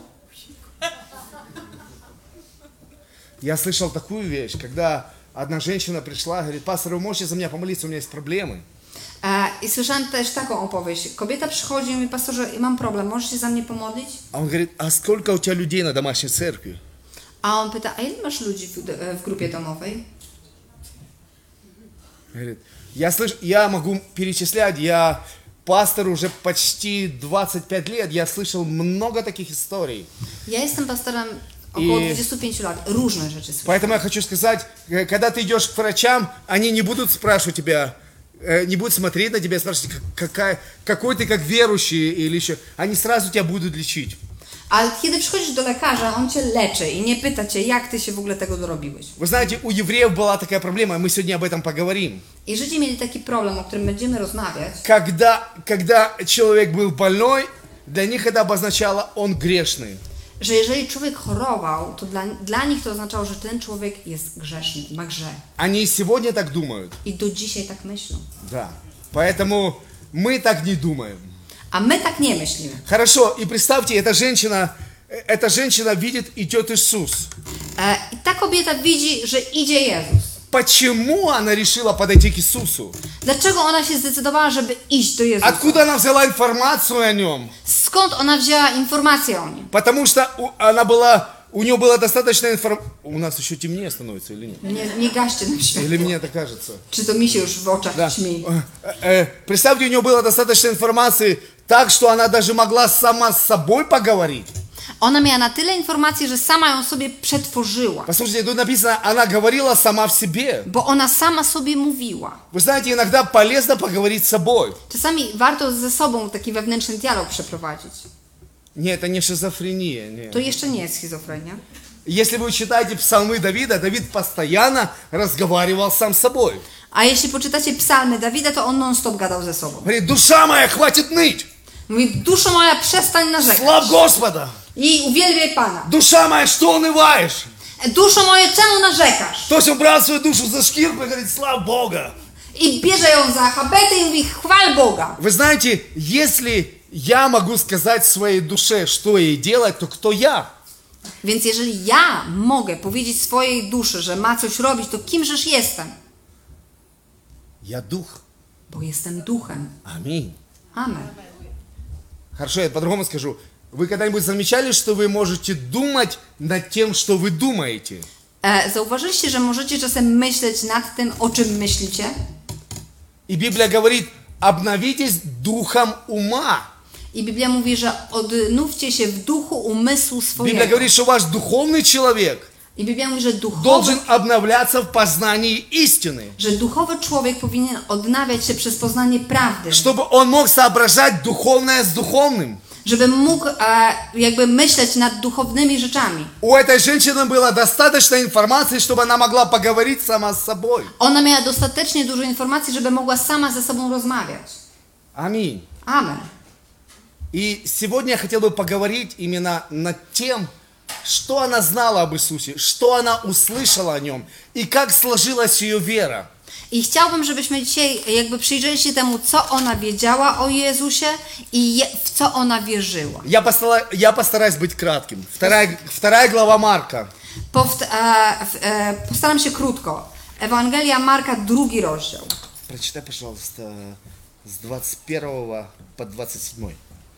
Я слышал такую вещь, когда одна женщина пришла, говорит, пастор, вы можете за меня помолиться, у меня есть проблемы. I słyszałem też taką opowieść. Kobieta przychodzi i mówi, pastorze, mam problem, możesz się za mnie pomodlić? А он говорит, а сколько у тебя людей на домашней церкви? A on pyta, a ile masz ludzi w grupie domowej? Говорит, я могу перечислять, я пастор уже почти 25 лет, я слышал много таких историй. Ja jestem pastorem około 25 lat. Różne rzeczy słyszałem. Поэтому я хочу сказать, когда ты идешь к врачам, они не будут спрашивать тебя, не будут смотреть на тебя, спрашивать, какой ты как верующий или еще. Они сразу тебя будут лечить. Ale kiedy przychodzisz do lekarza, on cię leczy i nie pyta cię, jak ty się w ogóle tego dorobiłeś. Вы знаете, у евреев была такая проблема, мы сегодня об этом поговорим. I Żydzi mieli taki problem, o którym będziemy rozmawiać. Когда человек был больной, для них это обозначало он грешный. Że jeżeli człowiek chorował, to dla nich to oznaczało, że ten człowiek jest grzeszny, ma grzech. Они и сегодня так думают. I do dzisiaj tak myślą. Да. Поэтому мы так не думаем. A my tak nie myślimy. Хорошо, и представьте, эта женщина видит, идет Иисус. I ta kobieta widzi, że idzie Jezus. Почему она решила подойти к Иисусу? Dlaczego ona się zdecydowała, żeby iść do Jezusa? Откуда она взяла информацию о нем? Skąd ona wzięła informację o nim? Потому что у нее было достаточно информации. У нас еще темнее становится или нет? Nie gaście nam światło. Или мне это кажется? Czy to mi się już w oczach Да. ćmi? Представьте, у нее было достаточно информации, так что она даже могла сама с собой поговорить. Ona miała na tyle informacji, że sama ją sobie przetworzyła. Послушайте, тут написано, она говорила сама в себе. Bo ona sama sobie mówiła. Вы знаете, иногда полезно поговорить с собой. Czasami warto ze sobą taki wewnętrzny dialog przeprowadzić. Не, это не шизофрения. Нет. To jeszcze nie jest schizofrenia. Если вы читаете псалмы Давида, Давид постоянно разговаривал сам с собой. A jeśli poczytacie psalmy Dawida, to on non-stop gadał ze sobą. Говорит, душа моя, хватит ныть. Mówi, duszo moja, przestań narzekać. Славь Господа. I uwielbiaj Pana. Душа моя, что унываешь? Duszo moje, czemu narzekasz? То есть он брал свою душу за шкирку и говорит, славь Бога. I bierze ją za habetę i mówi, chwal Boga. Вы знаете, если я могу сказать своей душе, что ей делать, то кто я? Więc jeżeli ja mogę powiedzieć swojej duszy, że ma coś robić, to kimżeż jestem? Я дух. Bo jestem duchem. Аминь. Amen. Хорошо, я по-другому скажу. Вы когда-нибудь замечали, что вы можете думать над тем, что вы думаете? Zauważyliście, że możecie czasem myśleć nad tym, o czym myślicie? И Библия говорит, обновитесь духом ума. I Biblia mówi, że odnówcie się w duchu umysłu Библия swojego. говорит, что ваш духовный человек I Biblia mówi, że duchowy, должен обновляться в познании истины, człowiek powinien odnawiać się przez poznanie prawdy. чтобы он мог соображать духовное с духовным. Żeby mógł jakby myśleć nad duchownymi rzeczami. У этой женщины было достаточно информации, чтобы она могла поговорить сама с собой. Ona miała dostatecznie dużo informacji, żeby mogła sama ze sobą rozmawiać. Аминь. Amen. И сегодня я хотел бы поговорить именно над тем, что она знала об Иисусе, что она услышала о Нем и как сложилась ее вера. I chciałbym, żebyśmy dzisiaj jakby przyjrzeli się temu, co ona wiedziała o Jezusie i w co ona wierzyła. Я постараюсь быть кратким. Вторая глава Марка. Postaram się krótko. Ewangelia Marka, 2 rozdział. Прочитай, пожалуйста, с 21 по 27.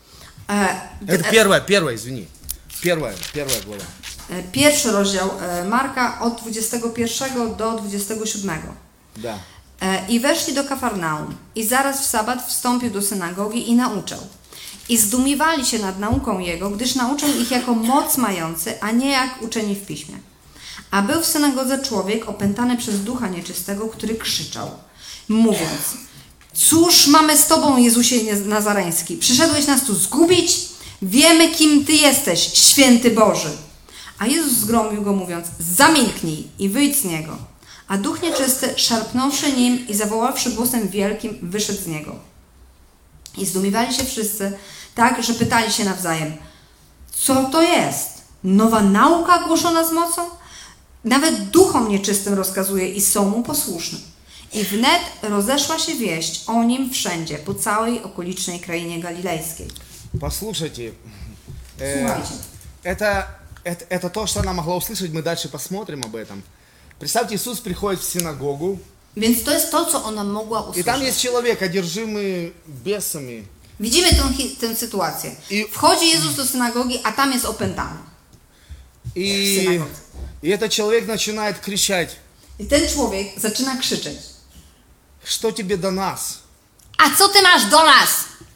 Это первая, извини. Первая глава. 1 rozdział Marka od 21 do 27. Да. I weszli do Kafarnaum i zaraz w sabat wstąpił do synagogi i nauczał. I zdumiewali się nad nauką Jego, gdyż nauczał ich jako moc mający, a nie jak uczeni w piśmie. A był w synagodze człowiek opętany przez ducha nieczystego, który krzyczał, mówiąc: cóż mamy z Tobą, Jezusie Nazareński? Przyszedłeś nas tu zgubić? Wiemy, kim Ty jesteś, święty Boży. A Jezus zgromił go, mówiąc: zamilknij i wyjdź z niego. A duch nieczysty, szarpnąwszy nim i zawoławszy głosem wielkim, wyszedł z niego. I zdumiewali się wszyscy, tak, że pytali się nawzajem: co to jest? Nowa nauka głoszona z mocą? Nawet duchom nieczystym rozkazuje i są mu posłuszne. I wnet rozeszła się wieść o nim wszędzie, po całej okolicznej krainie galilejskiej. Послушайте, Słuchajcie. это то, что она могла услышать, мы дальше посмотрим об этом. Представьте, Иисус приходит в синагогу, Więc to jest to, co ona mogła и там usłyszeć. есть человек, одержимый бесами. Widzimy tę sytuację. I- Wchodzi Jezus do synagogi, a tam jest opętany. И этот человек начинает кричать: I ten człowiek zaczyna krzyczeć: что тебе до нас? a co ty masz do nas?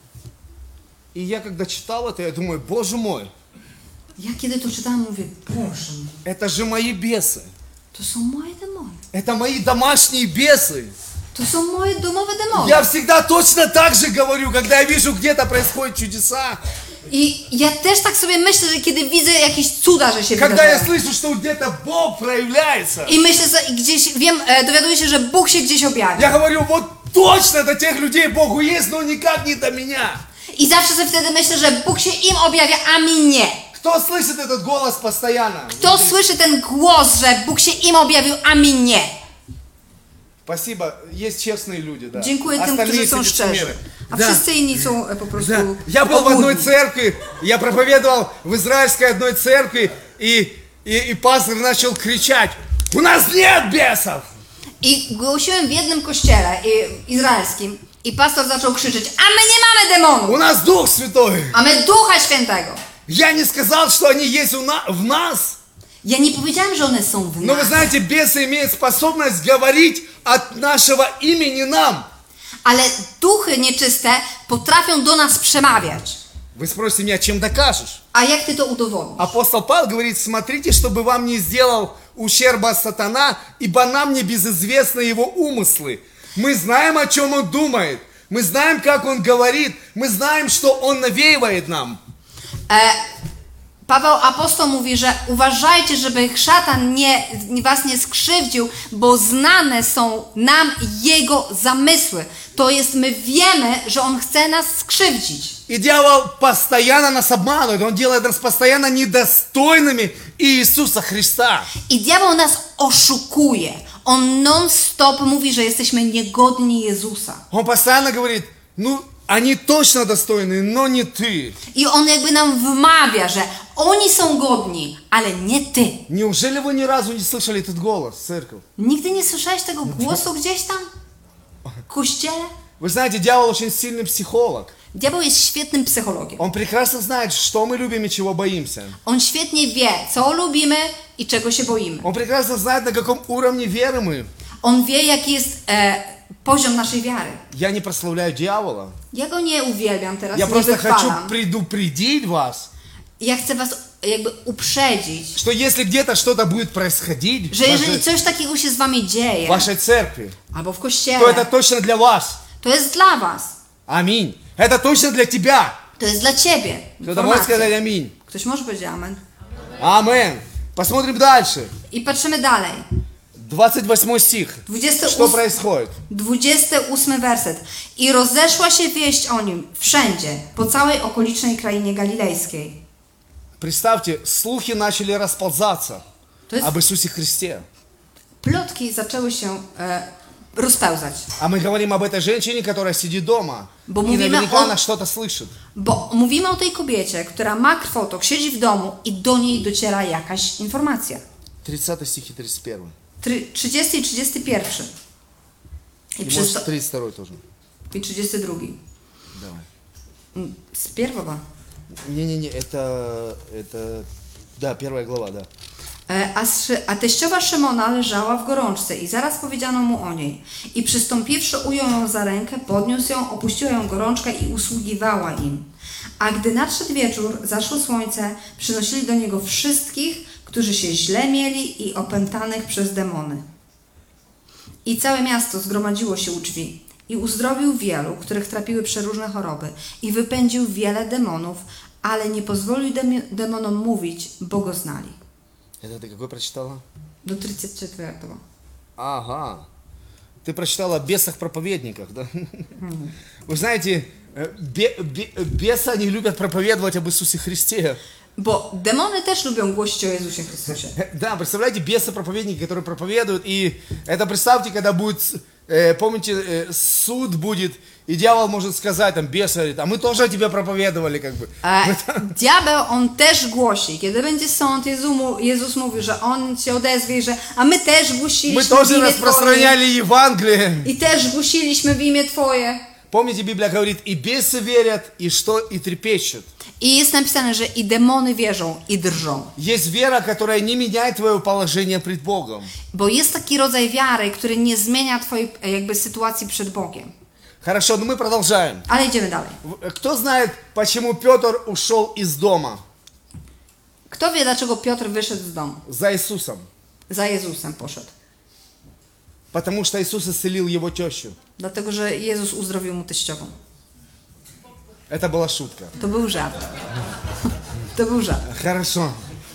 И я когда читал это, я думаю, Боже мой, Ja kiedy to czytałam, mówię: Boże, это же мои бесы. to są moje demony. Это мои домашние бесы. To są moje domowe demony. Я всегда точно так же говорю, когда я вижу, где-то происходят чудеса. I ja też tak sobie myślę, że kiedy widzę jakieś cuda, że się Когда я wydarzają. слышу, что где-то Бог проявляется. I myślę sobie, i gdzieś wiem, dowiaduję się, że Bóg się gdzieś Я objawia. говорю, вот точно до тех людей Богу есть, но никак не до меня. I zawsze sobie wtedy myślę, że Bóg się im objawia, a mi nie. Кто слышит этот голос постоянно? Kto słyszy ten głos, że Bóg się im objawił, a mi nie? Спасибо, есть честные люди, да. Dziękuję tym, którzy są szczerzy. A Да. wszyscy inni są po prostu Да. Я был в одной obłudni. церкви, я проповедовал в израильской одной церкви, и пастор начал кричать: у нас нет бесов! I głosiłem w jednym kościele izraelskim i pastor zaczął krzyczeć: a my nie mamy demonów, У нас Дух Святой! a my Ducha Świętego. Я не сказал, что они есть в нас. Ja nie powiedziałem, że one są w Но вы nas, знаете, бесы имеют способность говорить от нашего имени нам. ale duchy nieczyste potrafią do nas przemawiać. Вы спросите меня, чем докажешь? A jak ty to udowodnisz? Апостол Павел говорит: смотрите, чтобы вам не сделал ущерба сатана, ибо нам не безызвестны его умыслы. Мы знаем, о чем он думает. Мы знаем, как он говорит. Мы знаем, что он навеивает нам. Paweł apostoł mówi, że uważajcie, żeby szatan was nie skrzywdził, bo znane są nam jego zamysły. To jest, my wiemy, że on chce nas skrzywdzić. И дьявол постоянно нас обманывает. Он делает нас постоянно недостойными Иисуса Христа. I diabeł nas oszukuje. On non-stop mówi, że jesteśmy niegodni Jezusa. Он постоянно говорит: ну, они точно достойны, но не ты. I on jakby nam wmawia, że oni są godni, ale nie ty. Неужели вы ни разу не слышали этот голос, церковь? Nigdy nie słyszałeś tego głosu gdzieś tam? W kościele? Вы знаете, дьявол очень сильный психолог. Diabeł jest świetnym psychologiem. Он прекрасно знает, что мы любим и чего боимся. On świetnie wie, co lubimy i czego się boimy. Он прекрасно знает, на каком уровне веры мы. On wie, jaki jest poziom naszej wiary. Я не прославляю дьявола. Ja go nie uwielbiam teraz, Я nie просто хочу wychwalam. предупредить вас, Ja chcę was jakby uprzedzić, что если где-то что-то будет происходить że в jeżeli вашей, coś takiego się z wami dzieje, в вашей церкви, albo w то kościele, это точно для вас. to jest dla was. Аминь. Это точно для тебя. To jest dla ciebie. Кто-то может сказать Informacja. аминь. Ktoś może powiedzieć amen. Амен. Посмотрим дальше. I patrzymy dalej. 28 стих. 28, Что происходит? 28 werset. I rozeszła się wieść o nim wszędzie, po całej okolicznej krainie galilejskiej. Представьте, слухи начали расползаться To jest, об Иисусе Христе. plotki zaczęły się rozpełzać. А мы говорим об этой женщине, которая сидит дома. Bo И mówimy наверняка o- она что-то слышит. Bo mówimy o tej kobiecie, która ma krwotok, siedzi w domu i do niej dociera jakaś informacja. 30 стих и 31. 30 i 31. I, И przez to, может 32 тоже. i 32. Давай. Z pierwowa. Не-не-не, это... Да, 1 глава, да. A teściowa Szymona leżała w gorączce i zaraz powiedziano mu o niej. I przystąpiwszy ujął ją za rękę, podniósł ją, opuściła ją gorączka i usługiwała im. A gdy nadszedł wieczór, zaszło słońce, przynosili do niego wszystkich, którzy się źle mieli i opętanych przez demony. I całe miasto zgromadziło się u drzwi. I uzdrowił wielu, których trapiły przeróżne choroby. I wypędził wiele demonów, ale nie pozwolił demonom mówić, bo go znali. Это ты какой прочитала? Do 34. Ага. Ты прочитала о бесах-проповедниках, да? Вы знаете, бесы, они любят проповедовать об Иисусе Христе. Bo demony też lubią głosić o Jezusie Chrystusie. Да, представляете, бесы-проповедники, которые проповедуют, и это представьте, когда будет, помните, суд будет, и дьявол может сказать, там, бес говорит, а мы тоже о тебе проповедовали, как бы. Diabeł, on też głosi. Kiedy będzie sąd, Jezus mówi, że on się odezwie, że a my też Мы głosiliśmy w тоже imię Twoje. распространяли Евангелие. I też głosiliśmy w imię Twoje. Помните, Библия говорит, и бесы верят, и что, и трепещут. I jest napisane, że i demony wierzą, i drżą. Есть вера, которая не меняет твое положение пред Богом. Bo jest taki rodzaj wiary, który nie zmienia Twojej jakby sytuacji przed Bogiem. Хорошо, но мы продолжаем. Ale idziemy dalej. Кто знает, почему Петр ушел из дома Kto wie, dlaczego Piotr wyszedł z domu? за Иисусом? Za Jezusem poszedł. Потому что Иисус исцелил его тещу. Dlatego, że Jezus uzdrowił mu teściową. Это была шутка. To był żart. To był żart. Хорошо.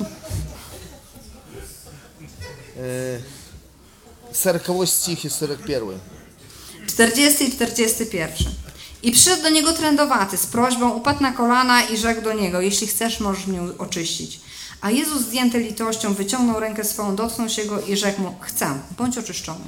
40 стих и 41. 40 i 41. I przyszedł do niego trędowaty z prośbą, upadł na kolana i rzekł do niego, jeśli chcesz, możesz mnie oczyścić. A Jezus zdjęty litością wyciągnął rękę swoją, dotknął się go i rzekł mu, chcę, bądź oczyszczony.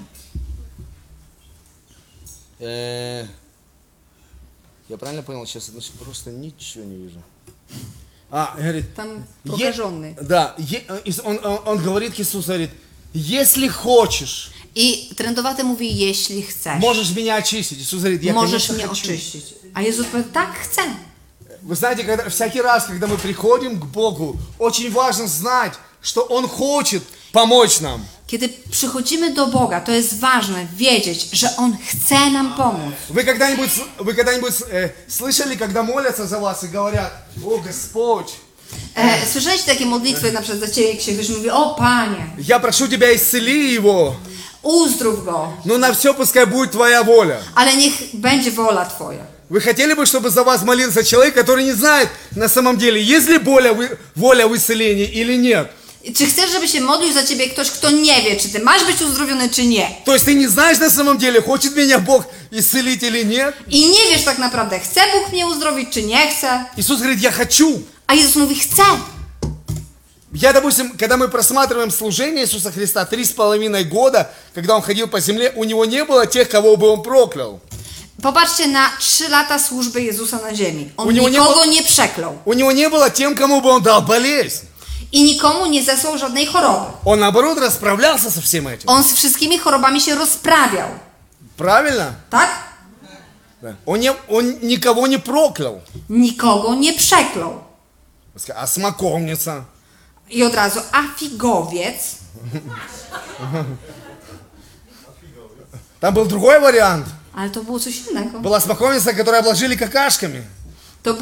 Я правильно понял? Сейчас просто ничего не вижу. Говорит, Tam prokаженный. да, он говорит, Иисус говорит, если хочешь, I trędowaty mówi, jeśli chcesz, можешь меня очистить. Иисус говорит, я, możesz конечно, mnie хочу. oczyścić. A Jezus powie, tak, chcę. Вы знаете, всякий раз, когда мы приходим к Богу, очень важно знать, что Он хочет помочь нам. Kiedy przychodzimy do Boga, to jest ważne wiedzieć, że On chce nam pomóc. Вы когда-нибудь слышали, когда молятся за вас и говорят, о Господь, Słyszeliście takie modlitwy na przykład za Ciebie, jak się wiesz, mówi, o Panie, я прошу Тебя, исцели его, uzdrów go, но на все пускай будет Твоя воля. ale niech będzie wola Twoja. Вы хотели бы, чтобы за вас молился человек, который не знает на самом деле, есть ли воля в исцелении или нет? Czy chcesz, żeby się modlił za Ciebie ktoś, kto nie wie, czy Ty masz być uzdrowiony, czy nie? То есть ты не знаешь на самом деле, хочет меня Бог исцелить или нет? I nie wiesz tak naprawdę, chce Bóg mnie uzdrowić, czy nie chce? Иисус говорит, я хочу. A Jezus mówi, chcę. Я, допустим, когда мы просматриваем служение Иисуса Христа 3,5 года, когда Он ходил по земле, у Него не было тех, кого бы Он проклял. Popatrzcie na 3 lata służby Jezusa na ziemi. U On niego nikogo nie przeklął. У Него не было тем, кому бы Он дал болезнь. I nikomu nie zesłał żadnej choroby. Он, наоборот, расправлялся со всем этим. On z wszystkimi chorobami się rozprawiał. Правильно? Tak? Да. Он никого не проклял. Nikogo nie przeklął. А смоковница? I od razu, a figowiec? Там был другой вариант. Ale to było coś innego. Была смоковница, которую обложили какашками, To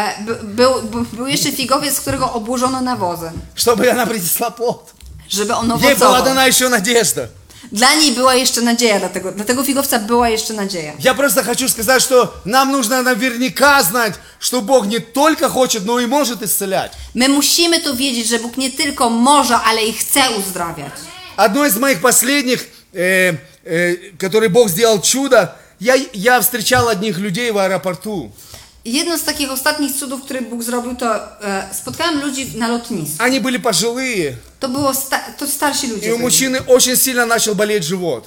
był jeszcze figowiec, którego obłożono nawozem, чтобы она принесла плод. żeby on Ей была owocował. дана еще надежда. Dla niej była jeszcze nadzieja, dla tego figowca była jeszcze nadzieja. Я просто хочу сказать, что нам нужно наверняка знать, что Бог не только хочет, но и может исцелять. My musimy to wiedzieć, że Bóg nie tylko może, ale i chce uzdrawiać. Одно из моих последних, который Бог сделал чудо, я встречал одних людей в аэропорту. Jedno z takich ostatnich cudów, które Bóg zrobił, to spotkałem ludzi na lotnisku. Они были пожилые, To starsi ludzie. и у мужчины очень сильно начал болеть живот.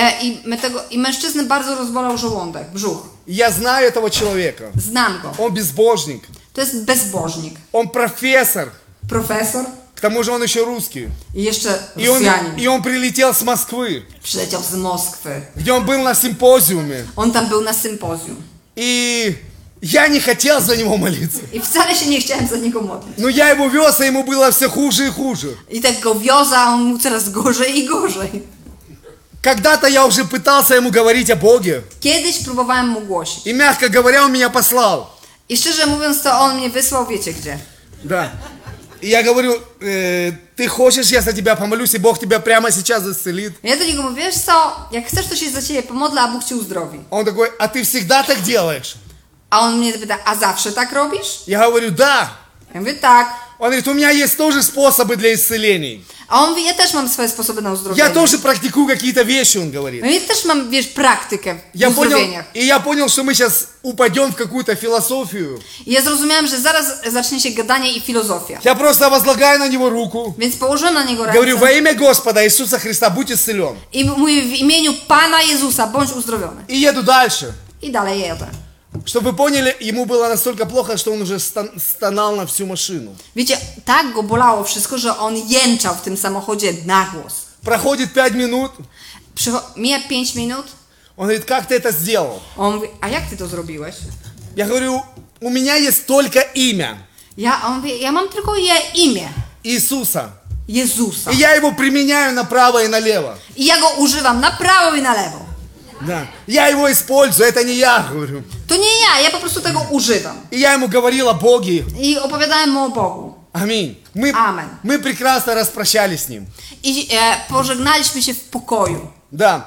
I mężczyzny bardzo rozbolał żołądek, brzuch. Я знаю этого человека. Znam go. Он безбожник, To jest bezbożnik. он профессор, Profesor к тому же он еще русский. i jeszcze И Rosjanin. он прилетел с Москвы, Przyleciał z Moskwy. где он был на симпозиуме. On tam był na sympozjum. И я не хотел за него молиться. I wcale się nie chciałem za niego modlić. Но я его вез, а ему было все хуже и хуже. I tak go wiozę, a on mu coraz gorzej i gorzej. Когда-то я уже пытался ему говорить о Боге. Kiedyś próbowałem mu głosić. И, мягко говоря, он меня послал. I szczerze mówiąc, to on mnie wysłał, wiecie gdzie. Да. И я говорю, ты хочешь, я за тебя помолюсь, и Бог тебя прямо сейчас исцелит. Ja do niego mówię, wiesz co, jak chcesz, to się za ciebie pomodlę, a Bóg cię uzdrowi. Он такой, а ты всегда так делаешь? A on mnie pyta, a zawsze tak robisz? Я говорю, да. Ja mówię, tak. Он говорит, у меня есть тоже способы для исцелений. A on mówi, ja też mam swoje sposoby na Я uzdrowienie. тоже практикую какие-то вещи, он говорит. No ja też mam, wiesz, praktykę w Я понял, uzdrowieniach. и я понял, что мы сейчас упадем в какую-то философию. I ja zrozumiałem, że zaraz zacznie się gadanie i filozofia. Я просто возлагаю на него руку. Więc położyłem na niego Говорю, во ręce имя Господа Иисуса Христа, будь исцелен. i mówię w imieniu Pana Jezusa, bądź uzdrowiony. И еду дальше. I dalej jadę. Чтобы вы поняли, ему было настолько плохо, что он уже стонал на всю машину. Wiecie, tak go bolało wszystko, że on jęczał w tym samochodzie na głos. Проходит 5 минут. Mija 5 minut, Он говорит, как ты это сделал? on mówi, a jak ty to zrobiłeś? Я говорю, у меня есть только имя On mówi, ja mam tylko imię Иисуса. Jezusa. И я его применяю направо и налево. I ja go używam na prawo i na lewo. Да. Я его использую, это не я, говорю. To nie ja po prostu tego używam. И я ему говорил о Боге. I opowiadałem mu o Bogu. Аминь. Amen. Мы прекрасно распрощались с ним. I pożegnaliśmy się w pokoju. Да.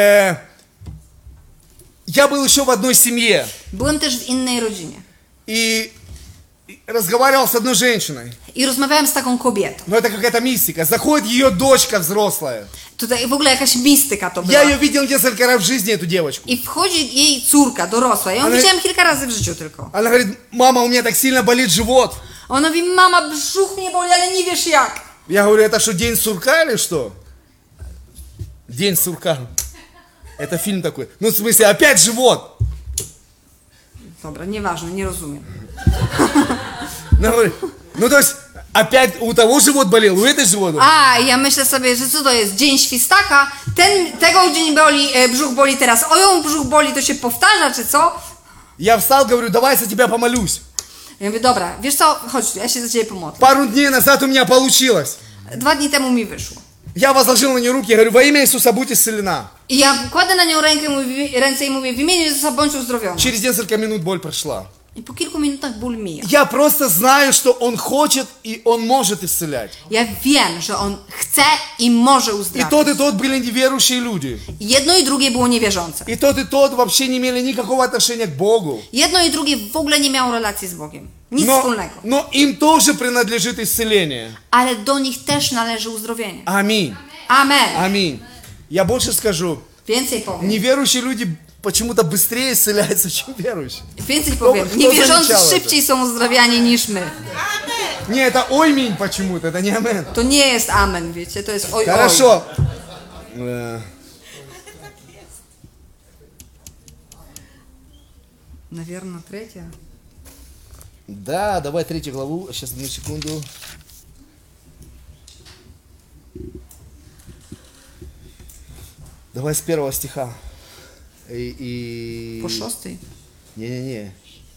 Я был еще в одной семье. Byłem też w innej rodzinie. И разговаривал с одной женщиной. I rozmawiałem z taką kobietą. Но это какая-то мистика. Заходит ее дочка взрослая. Tutaj w ogóle jakaś mistyka to była. Я ее видел несколько раз в жизни, эту девочку. I wchodzi jej córka dorosła. Ja ją Ale- widziałem kilka razy w życiu tylko. Она говорит, мама, у меня так сильно болит живот. Ona mówi, mama, brzuch mnie boli, ale nie wiesz jak. Я говорю, это что, День сурка или что? День сурка. Это фильм такой. Ну, в смысле, опять живот. Dobra, nieważne, nie rozumiem. Она говорит, ну, то есть, опять у того живот болел, у этой живот болел. A, ja myślę sobie, że co to jest? Dzień świstaka? Tego dzień boli, brzuch boli teraz. O, ją brzuch boli, to się powtarza, czy co? Я встал, говорю, давай за тебя помолюсь. Ja mówię, dobra, wiesz co, chodź tu, ja się za ciebie pomodlę. Пару дней назад у меня получилось. 2 dni temu mi wyszło. Я возложил на нее руки, я говорю, во имя Иисуса будь исцелена. I ja kładę na nią ręce i mówię, w imieniu Jezusa bądź uzdrowiona. Через несколько минут боль прошла. I po kilku minutach ból mija. Я просто знаю, что Он хочет и Он может исцелять. Ja wiem, że On chce i może И uzdrawiać. тот были неверующие люди. Jedno и drugie było niewierzące. И тот вообще не имели никакого отношения к Богу. Jedno i drugie w ogóle nie miało relacji z Bogiem. Nic wspólnego. Но им тоже принадлежит исцеление. Ale do nich też należy uzdrowienie. Аминь. Amen. Аминь. Я больше скажу. Więcej powiem. Неверующие люди почему-то быстрее исцеляются, чем верующие. Więcej powiem. Kto Niewierzący zaliczał to? szybciej są uzdrawiani niż my. Не, это ойминь почему-то, это не амен. To nie jest amen, wiecie, to jest oj, oj. Хорошо. Наверное, третья. Да, давай 3 главу. Сейчас, одну секунду. Давай с 1 стиха. По 6. Не-не-не.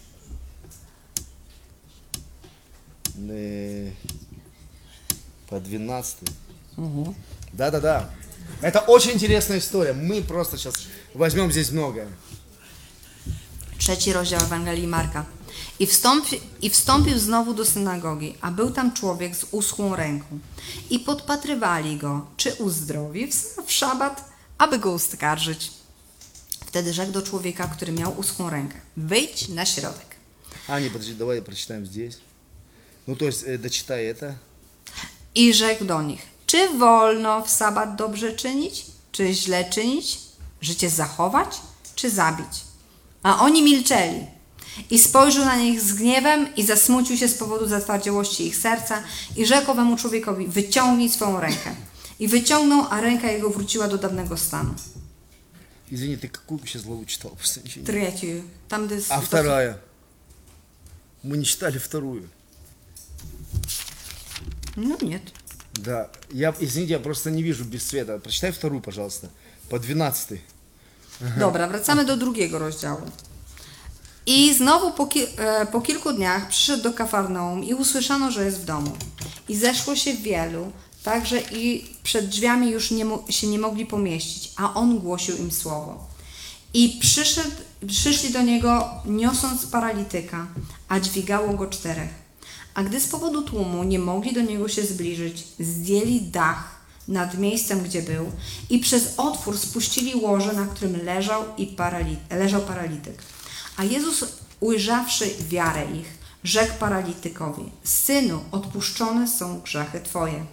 По 12. Да-да-да. Это очень интересная история. Мы просто сейчас Возьмем здесь много. 3 rozdział Ewangelii Marka. I wstąpił znowu do synagogi, a był tam człowiek z uschłą ręką. I podpatrywali go, czy uzdrowi w szabat, aby go oskarżyć. Wtedy rzekł do człowieka, który miał uschłą rękę: wyjdź na środek. А, не, подожди, давай прочитаем здесь. Ну, то есть, дочитай это. I rzekł do nich: czy wolno w sabat dobrze czynić, czy źle czynić, życie zachować, czy zabić? A oni milczeli. I spojrzał na nich z gniewem i zasmucił się z powodu zatwardziałości ich serca i rzekł owemu człowiekowi: wyciągnij swoją rękę. I wyciągnął, a ręka jego wróciła do dawnego stanu. Извини, ты какую сейчас главу читал? Просто ничего не- 3. Tam, gdy А вторая? Мы не читали вторую. No nie. Да, извините, я просто не вижу без света. Прочитай вторую, пожалуйста. По 12. Dobra, wracamy do 2 rozdziału. I znowu po kilku dniach przyszedł do Kafarnaum i usłyszano, że jest w domu. I zeszło się wielu, tak że i przed drzwiami już się nie mogli pomieścić, a on głosił im słowo. I przyszli do niego, niosąc paralityka, a dźwigało go 4. A gdy z powodu tłumu nie mogli do niego się zbliżyć, zdjęli dach nad miejscem, gdzie był, i przez otwór spuścili łoże, na którym leżał paralityk. A Jezus, ujrzawszy wiarę ich, rzekł paralitykowi: synu, odpuszczone są grzechy twoje.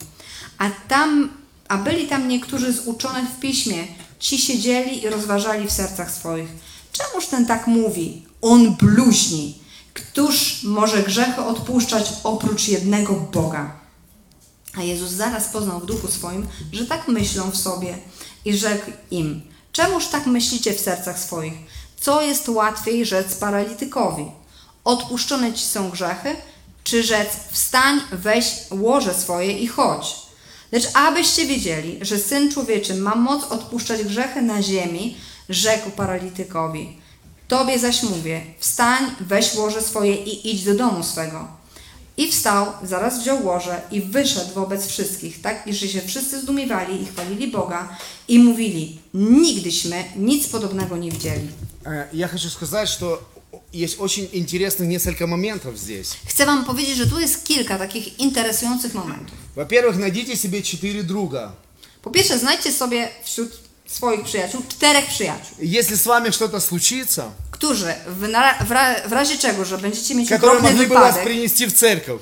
A byli tam niektórzy z uczonych w piśmie, ci siedzieli i rozważali w sercach swoich: czemuż ten tak mówi? On bluźni. Któż może grzechy odpuszczać oprócz jednego Boga? A Jezus zaraz poznał w duchu swoim, że tak myślą w sobie, i rzekł im: czemuż tak myślicie w sercach swoich? Co jest łatwiej rzec paralitykowi? Odpuszczone ci są grzechy, czy rzec: wstań, weź łoże swoje i chodź? Lecz abyście wiedzieli, że Syn Człowieczy ma moc odpuszczać grzechy na ziemi, rzekł paralitykowi: tobie zaś mówię, wstań, weź łoże swoje i idź do domu swego. I wstał, zaraz wziął łoże i wyszedł wobec wszystkich, tak iż się wszyscy zdumiewali i chwalili Boga i mówili: nigdyśmy nic podobnego nie widzieli. Я хочу сказать, что есть очень интересных несколько моментов здесь. Chcę wam powiedzieć, że tu jest kilka takich interesujących momentów. Во-первых, найдите себе 4 друга. Po pierwsze, znajdźcie sobie wśród swoich przyjaciół 4 przyjaciół, Если с вами что-то случится, którzy w razie czego, że będziecie mieć которые okropny могли бы вас wypadek, принести в церковь.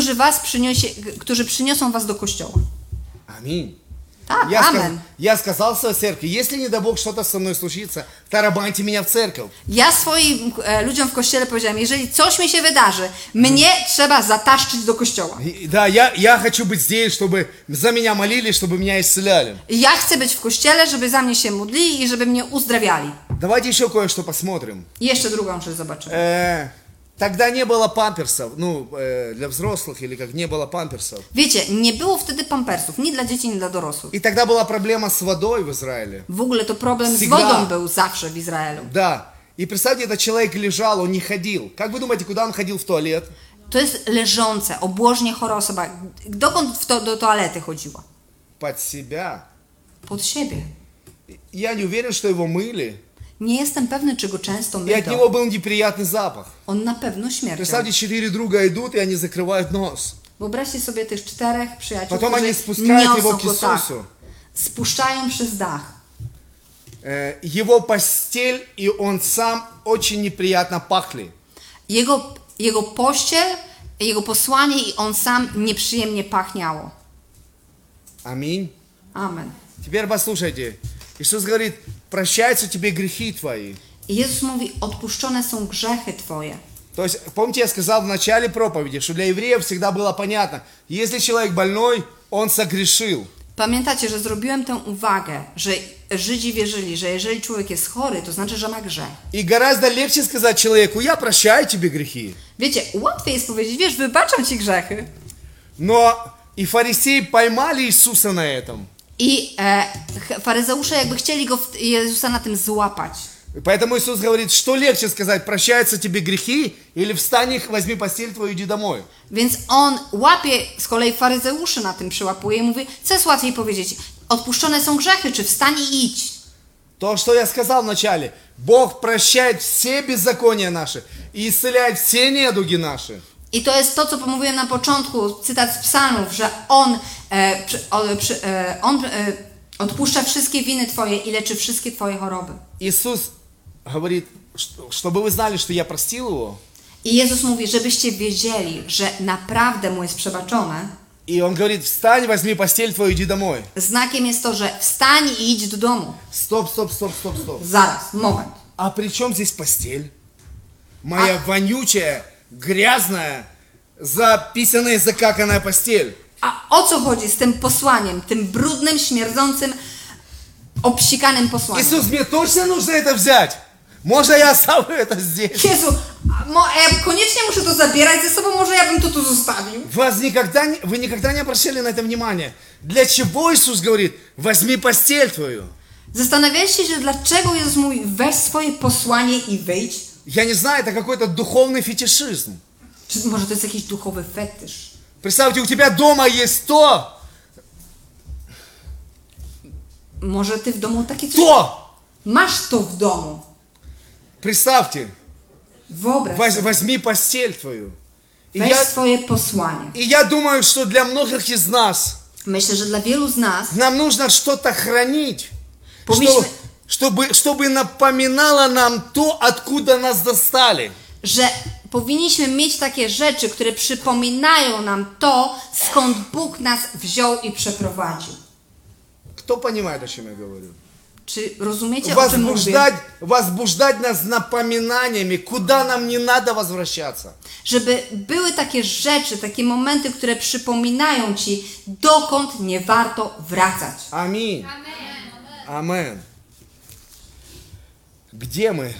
którzy przyniosą was do kościoła. Аминь. Tak, Я, amen. я сказал в своей церкви: если, не дай Бог, что-то со мной случится, тарабаньте меня в церковь. Ja swoim ludziom w kościele powiedziałem: jeżeli coś mi się wydarzy, mnie trzeba zataszczyć do kościoła. Да, я хочу быть здесь, чтобы за меня молились, чтобы меня исцеляли. Ja chcę być w kościele, żeby za mnie się modlili i żeby mnie uzdrawiali. Давайте еще кое-что посмотрим. I jeszcze drugą rzecz zobaczymy. Тогда не было памперсов, для взрослых или как, не было памперсов. Wiecie, nie było wtedy pampersów, ni dla dzieci, ni dla dorosłych. И тогда была проблема с водой в Израиле. W ogóle to problem z Всегда. wodą był zawsze w Izraelu. Да. И представьте, этот человек лежал, он не ходил. Как вы думаете, куда он ходил в туалет? To jest leżące, obłożnie chora osoba. Dokąd do toalety chodziła? Под себя. Pod siebie. Я не уверен, что его мыли. Nie jestem pewny, czy go często И от myto. него был неприятный запах. On na pewno śmierdział. Представьте, 4 друга идут, и они закрывают нос. Wyobraźcie sobie tych 4 przyjaciół, Потом они którzy спускают его niosą к go tak. Иисусу. Spuszczają przez dach. Его постель и он сам очень неприятно пахли. Jego pościel, jego posłanie i on sam nieprzyjemnie pachniało. Аминь. Amen. Теперь послушайте. Иисус говорит: прощаются тебе грехи твои. I Jezus mówi: odpuszczone są grzechy twoje. То есть, помните, я сказал в начале проповеди, что для евреев всегда было понятно: если человек больной, он согрешил. Pamiętacie, że zrobiłem tę uwagę, że Żydzi wierzyli, że jeżeli człowiek jest chory, to znaczy, że ma grzech. И гораздо легче сказать человеку: я прощаю тебе грехи. Wiecie, łatwiej jest powiedzieć: wiesz, wybaczam ci grzechy. Но и фарисеи поймали Иисуса на этом. I faryzeusze jakby chcieli Jezusa na tym złapać. Поэтому Иисус говорит: что легче сказать: прощаются тебе грехи, или встань их, возьми постель твою, иди домой. Więc on łapie z kolei faryzeuszy na tym przyłapuje i mówi: co jest łatwiej powiedzieć? Odpuszczone są grzechy, czy wstań i idź? То, что я сказал вначале. Бог прощает все беззакония наши и исцеляет все недуги наши. I to jest to, co pomówiłem na początku, cytat z psalmów, że On odpuszcza wszystkie winy Twoje i leczy wszystkie Twoje choroby. Иисус говорит, чтобы вы знали, что я простил его. I Jezus mówi, żebyście wiedzieli, że naprawdę Mu jest przebaczone. И он говорит, встань, возьми постель твою, иди домой. Znakiem jest to, że wstań i idź do domu. Стоп. Zaraz, moment. А при чем здесь постель? Моя вонючая, грязная, записанная, закаканная постель. A o co chodzi z tym posłaniem, tym brudnym, śmierdzącym, obsikanym posłaniem? Иисус, мне точно нужно это взять? Можно я оставлю это здесь? Jezu, ja koniecznie muszę to zabierać ze sobą, może ja bym to tu zostawił. Вы никогда не обращали на это внимание? Для чего Иисус говорит, возьми постель твою? Zastanawialiście się, dlaczego Jezus mówi, weź swoje posłanie i wyjdź? Я не знаю, это какой-то духовный фетишизм. Czy może to jest jakiś duchowy fetysz? Представьте, у тебя дома есть то, Może ty w domu takie coś... то. Masz to w domu. Представьте, Wyobraź sobie. возьми постель твою. Weź swoje posłanie. И я думаю, что для многих из нас Myślę, że dla wielu z nas нам нужно что-то хранить, Powinniśmy- чтобы напоминало нам то, откуда нас достали. że powinniśmy mieć takie rzeczy, które przypominają nam to, skąd Bóg nas wziął i przeprowadził. Кто понимает, о чем я говорю? Czy rozumiecie, o czym mówię? Возбуждать нас напоминаниями, куда нам не надо возвращаться. Żeby były takie rzeczy, takie momenty, które przypominają Ci, dokąd nie warto wracać. Аминь. Амен. Где мы?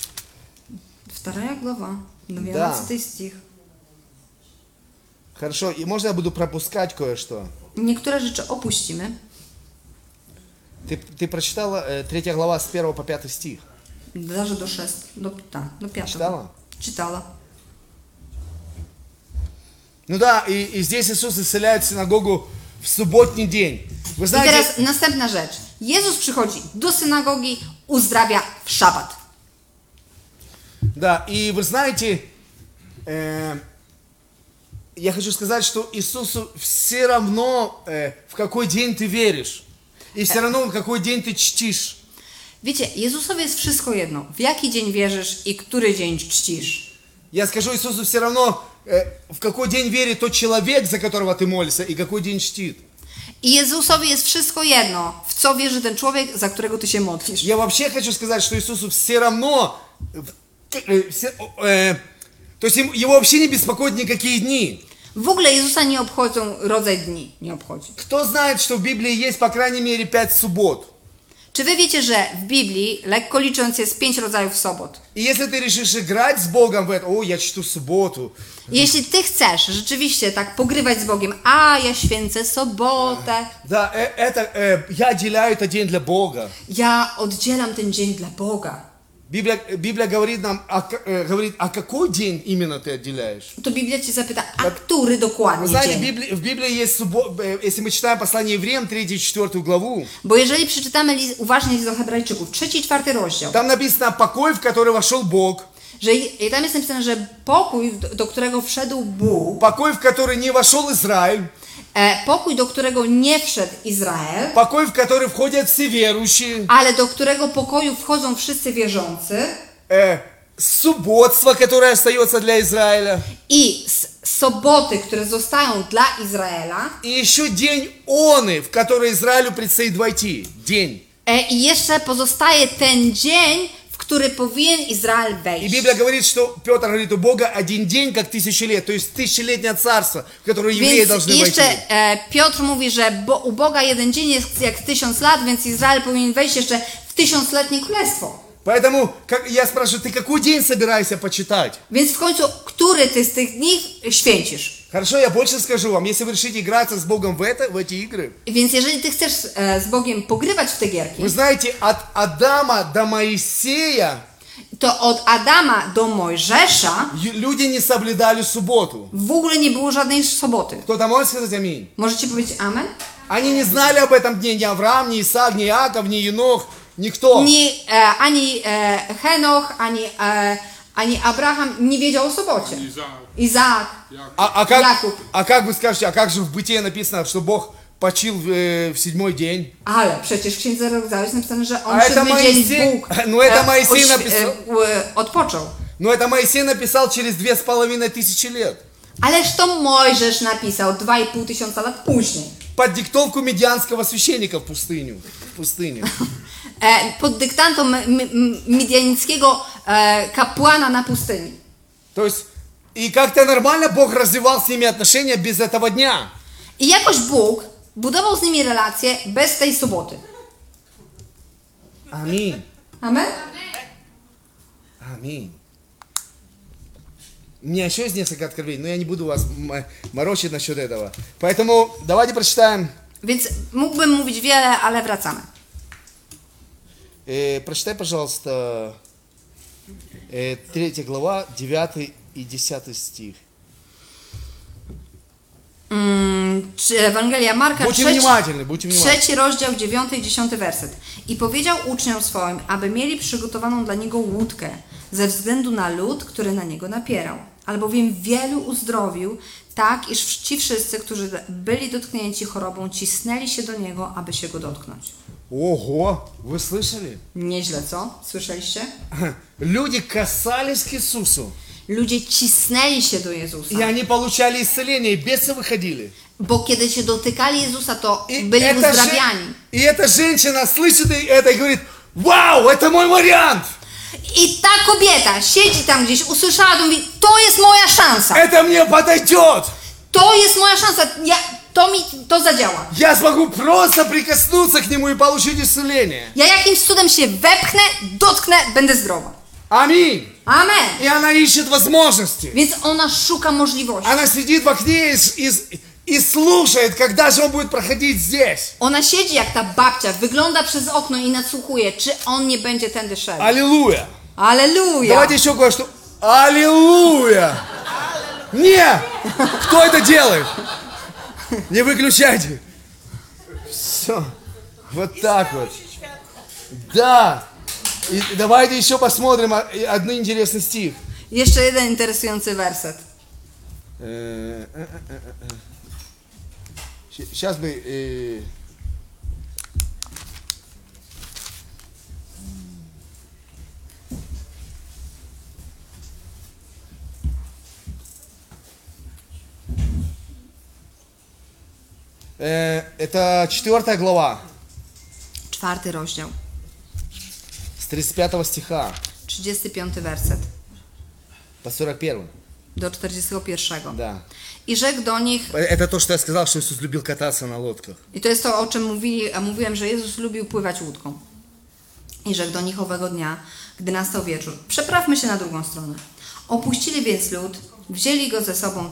2 głowa, 12 stich. Хорошо, и можно я буду пропускать кое-что? Niektóre rzeczy opuścimy. Ты прочитала 3 глава с 1 по 5 стих? Даже do 6, do 5. Читала? Czytała. Ну да, и здесь Иисус исцеляет синагогу в субботний день. Вы I знаете, teraz następna rzecz. Jezus przychodzi do synagogi, uzdrawia w szabat. да, и вы знаете, я хочу сказать, что Иисусу все равно, в какой день ты веришь. И все равно, в какой день ты чтишь. Wiecie, Jezusowi jest wszystko jedno. W jaki dzień wierzysz i który dzień czcisz. Я скажу Иисусу все равно, в какой день верит тот человек, за которого ты молишься, и какой день чтит. I Jezusowi jest wszystko jedno, w co wierzy ten człowiek, za którego ty się modlisz. Я вообще хочу сказать, что Иисусу все равно, то есть его вообще не беспокоят никакие дни. W ogóle Jezusa nie obchodzą rodzaj dni. Nie obchodzi. Кто знает, что в Библии есть, по крайней мере, 5 суббот? Czy wy wiecie, że w Biblii, lekko licząc, jest 5 rodzajów sobot? И если ты решишь играть с Богом в это, о, я чту субботу. Jeśli ty chcesz rzeczywiście tak pogrywać z Bogiem, a ja święcę sobotę, Да, я отделяю этот день для Бога. ja oddzielam ten dzień dla Boga, Библия говорит нам, а какой день именно ты отделяешь? to Biblia cię zapyta, a który Вы dokładnie знаете, dzień? в Библии есть суббота, если мы читаем послание евреям, 3-4 главу, Bo jeżeli przeczytamy uważnie list do Hebrajczyków, 3-4 rozdział, там написано покой, в который вошел Бог, że i tam jest napisane, że pokój, do którego wszedł Bóg, покой, в который не вошел Израиль, pokój, do którego nie wszedł Izrael, покой, в который входят все верующие, ale do którego pokoju wchodzą wszyscy wierzący, субботство, которое остается для Израиля, i soboty, które zostają dla Izraela, и еще день оны, в который Израилю предстоит войти. День. i jeszcze pozostaje ten dzień, w który powinien Izrael И wejść. Библия говорит, что Петр говорит, у Бога один день, как 1000 лет, то есть 1000-летнее царство, в которое евреи Więc должны войти. jeszcze Piotr mówi, że u Boga jeden dzień jest jak 1000 lat, więc Izrael powinien wejść jeszcze w 1000-letnie królestwo. Поэтому я спрашиваю, ты какой день собираешься почитать? Więc w końcu, który ty z tych dni święcisz? Хорошо, я больше скажу вам, если вы решите играться с Богом в эти игры, Więc jeżeli ty chcesz z Bogiem pogrywać w te gierki, вы знаете, от Адама до Моисея to od Adama do Mojżesza люди не соблюдали субботу. w ogóle nie było żadnej soboty. Кто-то может сказать аминь? Możecie powiedzieć amen? Они не знали об этом дне, ни Авраам, ни Исаак, ни Иаков, ни Енох, Никто. Ani Henoch, ani Abraham nie wiedział o sobocie. Izaak. Jakub. А как вы скажете, а как же в Бытие написано, что Бог почил в 7-й день? Ale przecież w Księdze Rodzaju jest napisane, że on A это siódmy dzień Моисей- Bóg no это Моисей написал. odpoczął. Но это Моисей написал через 2500 лет. Ależ to Mojżesz napisał 2500 lat później. Под диктовку медианского священника в пустыне. Pod dyktantą midianickiego kapłana na pustyni. То есть, и как-то нормально Бог развивал с ними отношения без этого дня. I jakoś Bóg budował z nimi relacje bez tej soboty. Аминь. Amen? Аминь. У меня еще есть несколько откровений, но я не буду вас морочить насчет этого. Поэтому давайте прочитаем. Więc mógłbym mówić wiele, ale wracamy. Прочитай, пожалуйста, 3 глава, 9 и 10 стих. Ewangelia Marka, Будьте внимательны, будьте внимательны. 3 rozdział, 9 i 10 werset. I powiedział uczniom swoim, aby mieli przygotowaną dla niego łódkę, ze względu na lud, który na niego napierał. Albowiem wielu uzdrowił, tak iż ci wszyscy, którzy byli dotknięci chorobą, cisnęli się do niego, aby się go dotknąć. Ого, вы слышали? Nieźle, co? Słyszeliście? Люди касались к Иисусу, Ludzie cisnęli się do Jezusa. и они получали исцеление, и бесы выходили. Bo kiedy się dotykali Jezusa, to byli uzdrawiani. И эта женщина слышит это и говорит: вау, это мой вариант! I ta kobieta siedzi tam gdzieś, usłyszała to, mówi, to jest moja szansa. Это мне подойдет! To jest moja szansa. To zadziała. Я смогу просто прикоснуться к нему и получить исцеление. Ja jakimś cudem się wepchnę, dotknę, będę zdrowa. Аминь. Amen. И она ищет возможности. Więc ona szuka możliwości. Она сидит в окне и слушает, когда же он будет проходить здесь. Ona siedzi jak ta babcia, wygląda przez okno i nadsłuchuje, czy on nie będzie tędy szedł. Аллилуйя. Aleluja. Давайте еще кое-что. Аллилуйя. Не! Кто это делает? Не выключайте. Все. Вот так вот. Да. И давайте еще посмотрим один интересный стих. Jeszcze jeden interesujący werset. Сейчас бы... Это 4 глава, 4 rozdział, с 35 стиха 35 werset по 41. do 41. Да. I rzekł do nich, Это то, что я сказал, что Иисус любил кататься на лодках. i to jest to, o czym mówiłem, że Jezus lubił pływać łódką. I rzekł do nich owego dnia, gdy nastał wieczór, przeprawmy się na drugą stronę. Opuścili więc lud, wzięli go ze sobą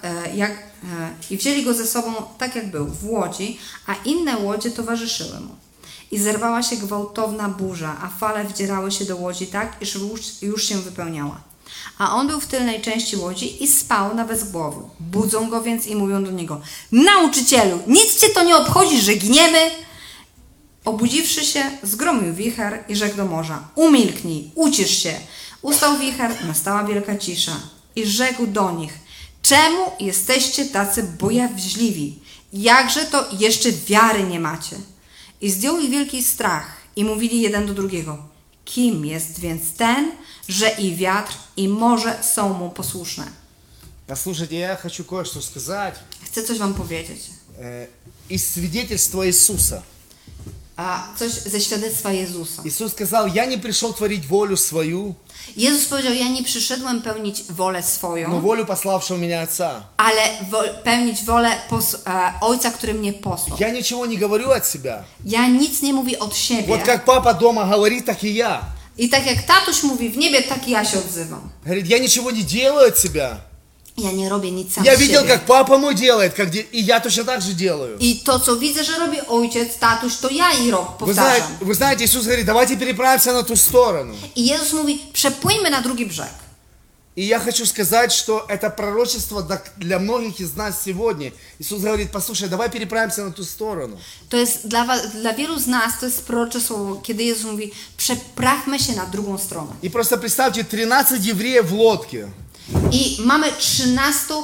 tak jak był, w łodzi, a inne łodzie towarzyszyły mu. I zerwała się gwałtowna burza, a fale wdzierały się do łodzi tak, iż już się wypełniała. A on był w tylnej części łodzi i spał na wezgłowiu. Budzą go więc i mówią do niego: nauczycielu, nic cię to nie obchodzi, że giniemy? Obudziwszy się, zgromił wicher i rzekł do morza: umilknij, ucisz się. Ustał wicher, nastała wielka cisza. I rzekł do nich: czemu jesteście tacy bojaźliwi? Jakże to jeszcze wiary nie macie? I zdjął ich wielki strach i mówili jeden do drugiego: kim jest więc ten, że i wiatr, i morze są mu posłuszne? Послушайте, я хочу кое-что сказать Chcę coś wam powiedzieć. из свидетельства Иисуса. A coś ze świadectwa Jezusa. Иисус сказал: я не пришел творить волю свою, Jezus powiedział: ja nie przyszedłem pełnić wolę но swoją, волю пославшего меня Отца. ale pełnić wolę Ojca, który mnie posłał. Я ничего не говорю от себя. Ja nic nie mówię od siebie. Вот как папа дома говорит, так и я. I tak jak tatuś mówi w niebie, tak i ja się odzywam. Говорит: я ничего не делаю от себя. Ja nie robię nic sam Я z видел, siebie. как папа мой делает, и я точно так же делаю. I to, co widzę, że robi ojciec, tatuś, to ja i powtarzam. Вы знаете, Иисус говорит: давайте переправимся на ту сторону. I Jezus mówi: przepłyńmy na drugi brzeg. И я хочу сказать, что это пророчество для многих из нас сегодня. Иисус говорит, послушай, давай переправимся на ту сторону. To jest dla wielu z nas to jest prorocze słowo, kiedy Jezus mówi, przeprawmy się na drugą stronę. И просто представьте, 13 евреев в лодке. I mamy 13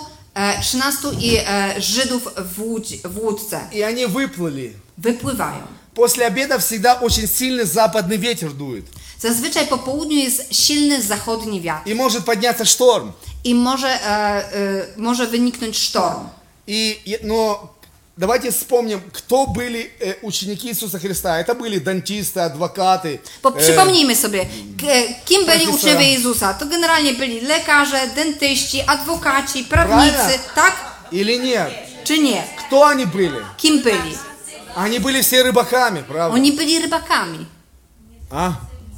Żydów w łódce. И они wyплыли. Wypływają. После обеда всегда очень сильный западный ветер дует. Zazwyczaj po południu jest silny zachodni wiatr И может подняться шторм. i może wyniknąć sztorm. Но давайте вспомним, кто были ученики Иисуса Христа. Это были дантисты, адвокаты. Bo przypomnijmy sobie, kim byli profesora. uczniowie Jezusa. To generalnie byli lekarze, dentyści, adwokaci, prawnicy, Правильно? tak? Или нет? Czy nie? Кто они были? Kim byli? Они были все рыбаками, правда? Oni byli rybakami. А?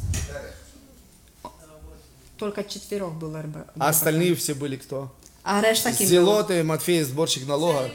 Tylko 4 było rybakami. А остальные все были кто? A reszta kim była? Зелоты, Матфей, сборщик налога.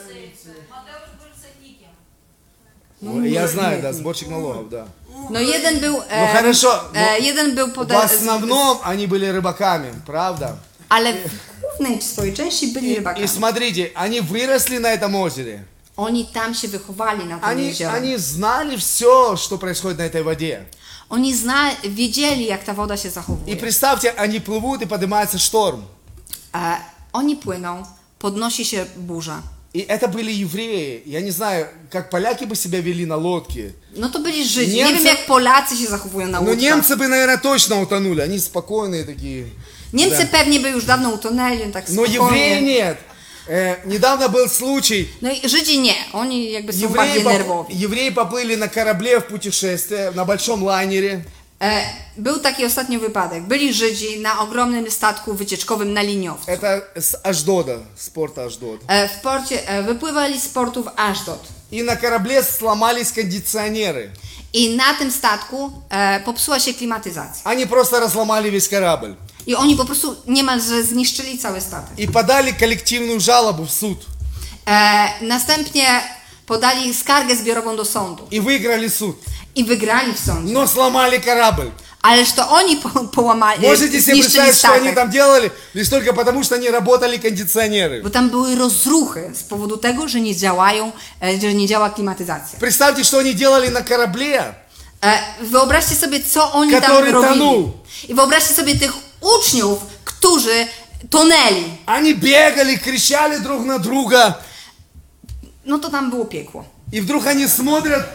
Я знаю, да, сборщик налогов, да. No jeden był, хорошо, jeden był В основном они были рыбаками, правда? ale w głównej swojej części byli И rybakami. смотрите, они выросли на этом озере. Oni tam się wychowali na tym jeziorze. Они знали все, что происходит на этой воде. Oni wiedzieli, jak ta woda się И zachowuje. представьте, они плывут и поднимается шторм. Oni płyną, podnosi się burza. И это были евреи. Я не знаю, как поляки бы себя вели на лодке. No to byli Żydzi. Niemcy- Nie wiem, jak Polacy się zachowują na Но łódkach. немцы бы, наверное, точно утонули. Они спокойные такие. Niemcy pewnie by już dawno utonęli, tak Но евреи spokojnie. нет. Недавно был случай. No i Żydzi nie. Oni jakby są bardziej nerwowi. Евреи поплыли на корабле в путешествие, на большом лайнере. Był taki ostatnio wypadek. Byli Żydzi na ogromnym statku wycieczkowym na liniowcu. Это с Аждода, с порта Аждод. W porcie wypływali z portu w Ashdod. И на корабле сломались кондиционеры. I na tym statku popsuła się klimatyzacja. Они просто разломали весь корабль. I oni po prostu niemalże zniszczyli cały statek. И подали коллективную жалобу в суд. Następnie podali skargę zbiorową do sądu. И выиграли суд. I wygrali w sądzie. Но сломали корабль. Ależ to oni połamali, Можете себе zniszczyli представить, что они statek. там делали? Лишь только потому, что не работали кондиционеры. Bo tam były rozruchy z powodu tego, że nie działa klimatyzacja. Представьте, что они делали на корабле, Wyobraźcie sobie, co oni tam Który robili. tonął. I wyobraźcie sobie tych uczniów, którzy tonęli. они бегали, кричали друг на друга. No to tam było piekło. И вдруг они смотрят,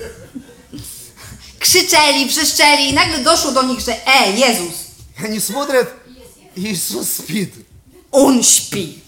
Krzyczeli, wrzeszczeli i nagle doszło do nich, że Jezus, они смотрят, Иисус спит. On śpi.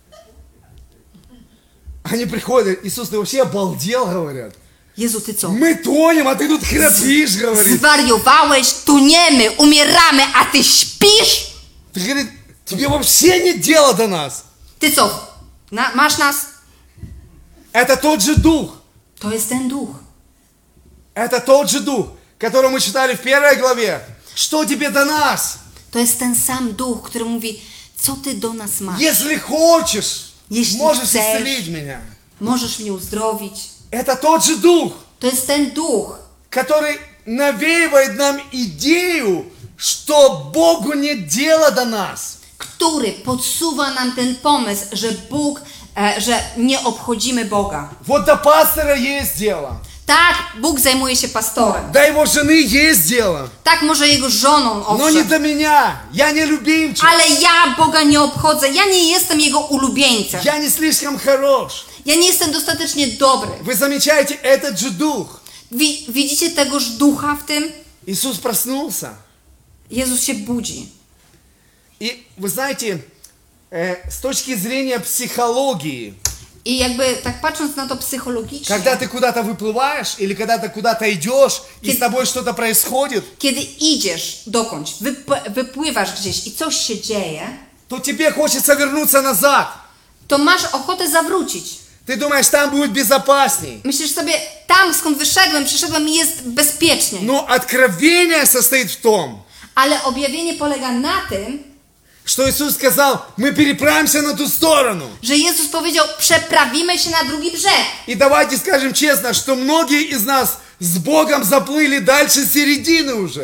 Они приходят, Иисус, ты вообще обалдел, говорят. Jezu, ty co? Мы тонем, а ты тут храпишь, говорит. Zwariowałeś, toniemy, umieramy, a ty śpisz? Ты, говорит, тебе вообще нет дела до нас. Ty co? Masz nas? Это тот же дух. To jest ten duch. Это тот же дух, который мы читали в 1 главе. Что тебе до нас? To jest ten sam duch, który mówi, co ty do nas masz? Если хочешь, Jeśli можешь chcesz, исцелить меня. możesz mnie uzdrowić. Это тот же дух, To jest ten duch, который навеивает нам идею, что Богу нет дела до нас. który podsuwa nam ten pomysł, że nie obchodzimy Boga. Вот до пастора есть дело. Tak, Bóg zajmuje się pastorem. До его жены есть дело. Tak, może jego żoną, Но не owszem. до меня. Я не любимчик. Ale ja Boga nie obchodzę. Ja nie jestem Jego ulubieńcem. Я не слишком хорош. Ja nie jestem dostatecznie dobry. Вы замечаете этот же дух. Widzicie tegoż ducha w tym? Иисус проснулся. Jezus się budzi. И вы знаете, с точки зрения психологии, I jakby tak patrząc na to psychologicznie, когда ты куда-то выплываешь или когда ты куда-то идешь и с тобой что-то происходит, kiedy idziesz dokądś, wypływasz gdzieś i coś się dzieje, то тебе хочется вернуться назад. to masz ochotę zawrócić. Ты думаешь, там будет безопасней. Myślisz sobie, tam skąd przyszedłem i jest bezpiecznie. Но откровение состоит в том, Ale objawienie polega na tym, что Иисус сказал, мы переправимся на ту сторону. że Jezus powiedział, przeprawimy się na drugi brzeg. И давайте скажем честно, что многие из нас с Богом заплыли дальше середины уже.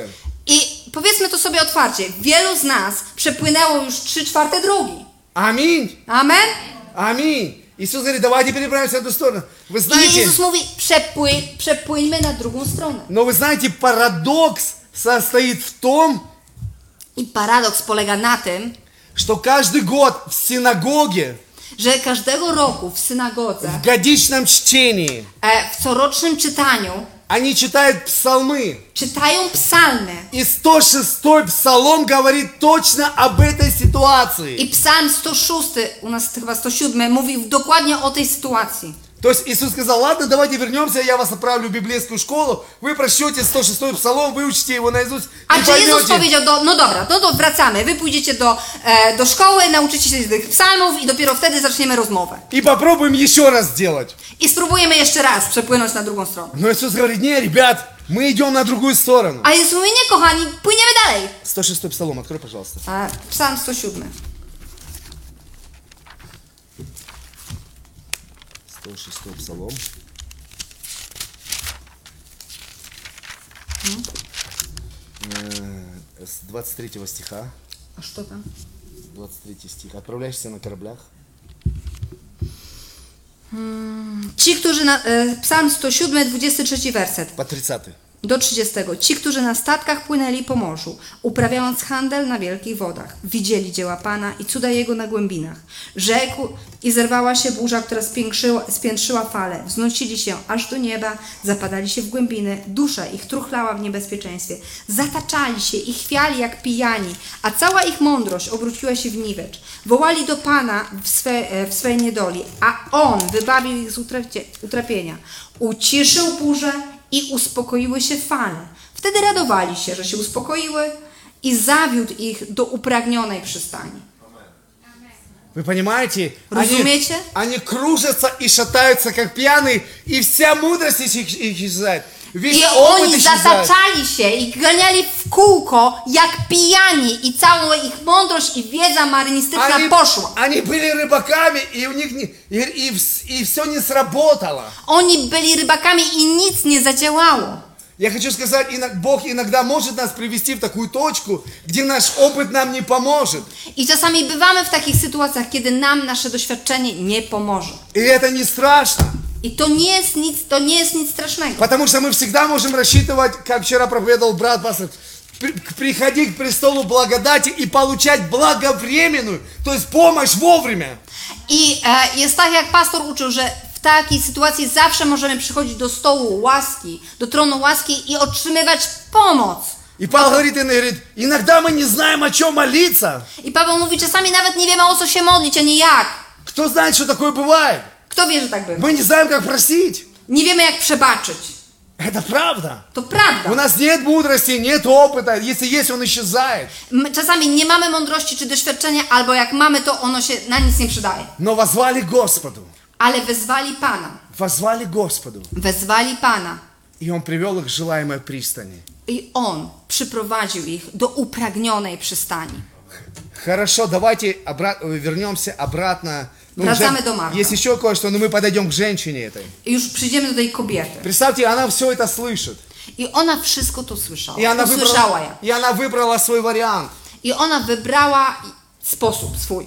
I powiedzmy to sobie otwarcie. Wielu z nas przepłynęło już 3/4 drogi. Аминь. Amen? Аминь. Иисус говорит, давайте переправимся в эту сторону. Вы I знаете, Jezus mówi, przepłyńmy na drugą stronę. но вы знаете, парадокс состоит в том, I paradoks polega na tym, что каждый год в синагоге, że każdego roku w synagodze, в годичном чтении, w corocznym czytaniu они читают псалмы. czytają psalmy. И 106-й псалом говорит точно об этой ситуации. I psalm 106, u nas chyba 107, mówi dokładnie o tej sytuacji. То есть Иисус сказал, ладно, давайте вернемся, я вас отправлю в библейскую школу, вы прочтете 106-й псалом, выучите его наизусть A и czy Jezus поймете. powiedział, no dobra, no to wracamy, wy pójdziecie do szkoły, nauczycie się tych psalmów i dopiero wtedy zaczniemy rozmowę. И попробуем еще раз сделать. I spróbujemy jeszcze raz przepłynąć na drugą stronę. Но Иисус говорит, не, ребят, мы идем на другую сторону. A Jezus mówi, nie kochani, płyniemy dalej. 106-й псалом, открой, пожалуйста. Psalm 107. 106-й псалом. С 23 стиха. A co tam? 23 стих. Отправляешься на кораблях. Ci, którzy Psalm 107, 23 werset. По 30. Do 30. Ci, którzy na statkach płynęli po morzu, uprawiając handel na wielkich wodach, widzieli dzieła Pana i cuda Jego na głębinach. Rzekł i zerwała się burza, która spiętrzyła fale. Wznosili się aż do nieba, zapadali się w głębiny, dusza ich truchlała w niebezpieczeństwie. Zataczali się i chwiali jak pijani, a cała ich mądrość obróciła się w niwecz. Wołali do Pana w swej niedoli, a On wybawił ich z utrapienia. Uciszył burzę i uspokoiły się fale. Wtedy radowali się, że się uspokoiły i zawiódł ich do upragnionej przystani. Вы понимаете? Разумеете? Они кружатся и шатаются, как пьяные, и вся мудрость их исчезает. Весь I опыт oni исчезает. zataczali się i ganiali w kółko jak pijani i cała ich mądrość i wiedza marynistyczna poszła. Они были рыбаками, и у них и все не сработало. Oni byli rybakami i nic nie zadziałało. Я хочу сказать, Бог иногда может нас привести в такую точку, где наш опыт нам не поможет. I czasami bywamy w takich sytuacjach, kiedy nam nasze doświadczenie nie pomoże. И это не страшно. I to nie jest nic strasznego. Потому что мы всегда можем рассчитывать, как вчера проповедовал брат пастор, приходить к престолу благодати и получать благовременную, то есть помощь вовремя. I jest tak, jak pastor uczył, że w takiej sytuacji zawsze możemy przychodzić do stołu łaski, do tronu łaski i otrzymywać pomoc. И Павел говорит, иногда мы не знаем, о чем молиться. I Paweł mówi, czasami nawet nie wiemy, o co się modlić, ani jak. Кто знает, что такое бывает? Kto wie, że tak bywa? Мы не знаем, как просить. Nie wiemy, jak przebaczyć. Это правда. To prawda. У нас нет мудрости, нет опыта. Если есть, он исчезает. My czasami nie mamy mądrości czy doświadczenia, albo jak mamy, to ono się na nic nie przydaje. Но воззвали Господу. Ale wezwali Pana. Воззвали Господу. Wezwali Pana. И Он привел их к желаемой пристани. I On przyprowadził ich do upragnionej przystani. Хорошо, давайте вернемся обратно. Wracamy do Marka. Есть еще кое-что, но мы подойдем к женщине этой. I już przyjdziemy do tej kobiety. Представьте, она все это слышит. I ona wszystko to słyszała. И она Usłyszała je. выбрала свой вариант. I ona wybrała sposób swój.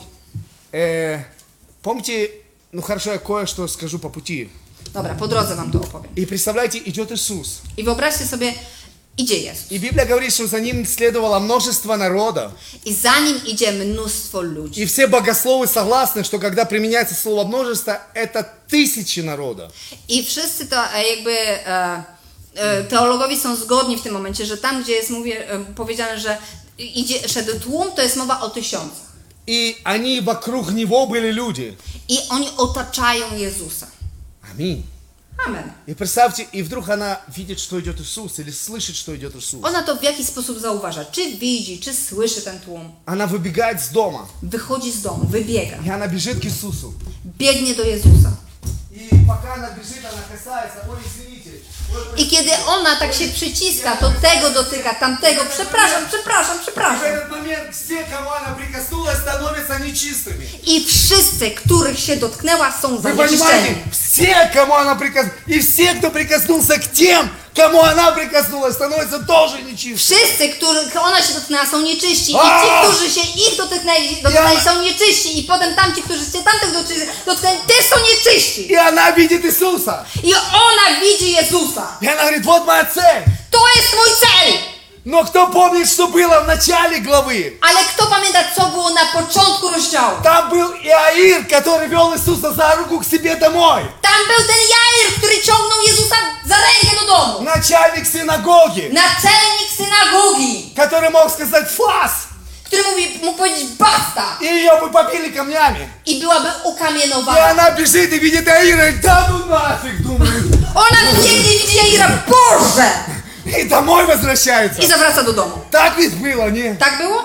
Помните, ну хорошо, я кое-что скажу по пути. Dobra, po drodze wam to opowiem. И представляете, идет Иисус. I wyobraźcie sobie, idzie Jezus. И Библия говорит, что за ним следовало множество народа. I za nim idzie mnóstwo ludzi. И все богословы согласны, что когда применяется слово множество, это тысячи народа. I wszyscy to jakby teologowie są zgodni w tym momencie, że tam, gdzie jest powiedziane, że szedł tłum, to jest mowa o tysiącach. И они вокруг него были люди. I oni otaczają Jezusa. Аминь. Amen. И представьте, и вдруг она видит, что идет Иисус, или слышит, что идет Иисус. Ona to w jakiś sposób zauważa. Czy widzi, czy słyszy ten tłum. Она выбегает с дома. Wychodzi z domu, wybiega. И она бежит к Иисусу. Biegnie do Jezusa. И пока она бежит, она касается, ой, извините. I kiedy ona tak się przyciska, to tego dotyka, tamtego. Przepraszam. В этот момент все, кому она прикоснулась, становятся нечистыми. I wszyscy, których się dotknęła, są Вы zanieczyszczeni. понимаете, все, кому она прикоснулась, и все, кто прикоснулся к тем, кому она прикоснулась, становятся тоже нечистыми. Wszyscy, których ona się dotknęła, są nieczyści. I A! ci, którzy się ich dotknęli, są nieczyści. I potem tamci, którzy się tamtych dotknęli, też są nieczyści. И она видит Иисуса. I ona widzi Jezusa. И она говорит, вот моя цель. To jest mój cel. Но кто помнит, что было в начале главы? Ale kto pamięta, co było na początku rozdziału? Там был Иаир, который вел Иисуса за руку к себе домой. Tam był ten Jair, który ciągnął Jezusa za rękę do domu. Начальник синагоги, Naczelnik synagogi, который мог сказать «фас», który mógł powiedzieć basta. и ее бы побили камнями. I byłaby И ukamienowana. она бежит и видит Иаира, и да ну нафиг, думает. Ona biegnie i widzi Jaira, Boże! И домой возвращается. I zawraca do domu. Так ведь было, не? Tak było?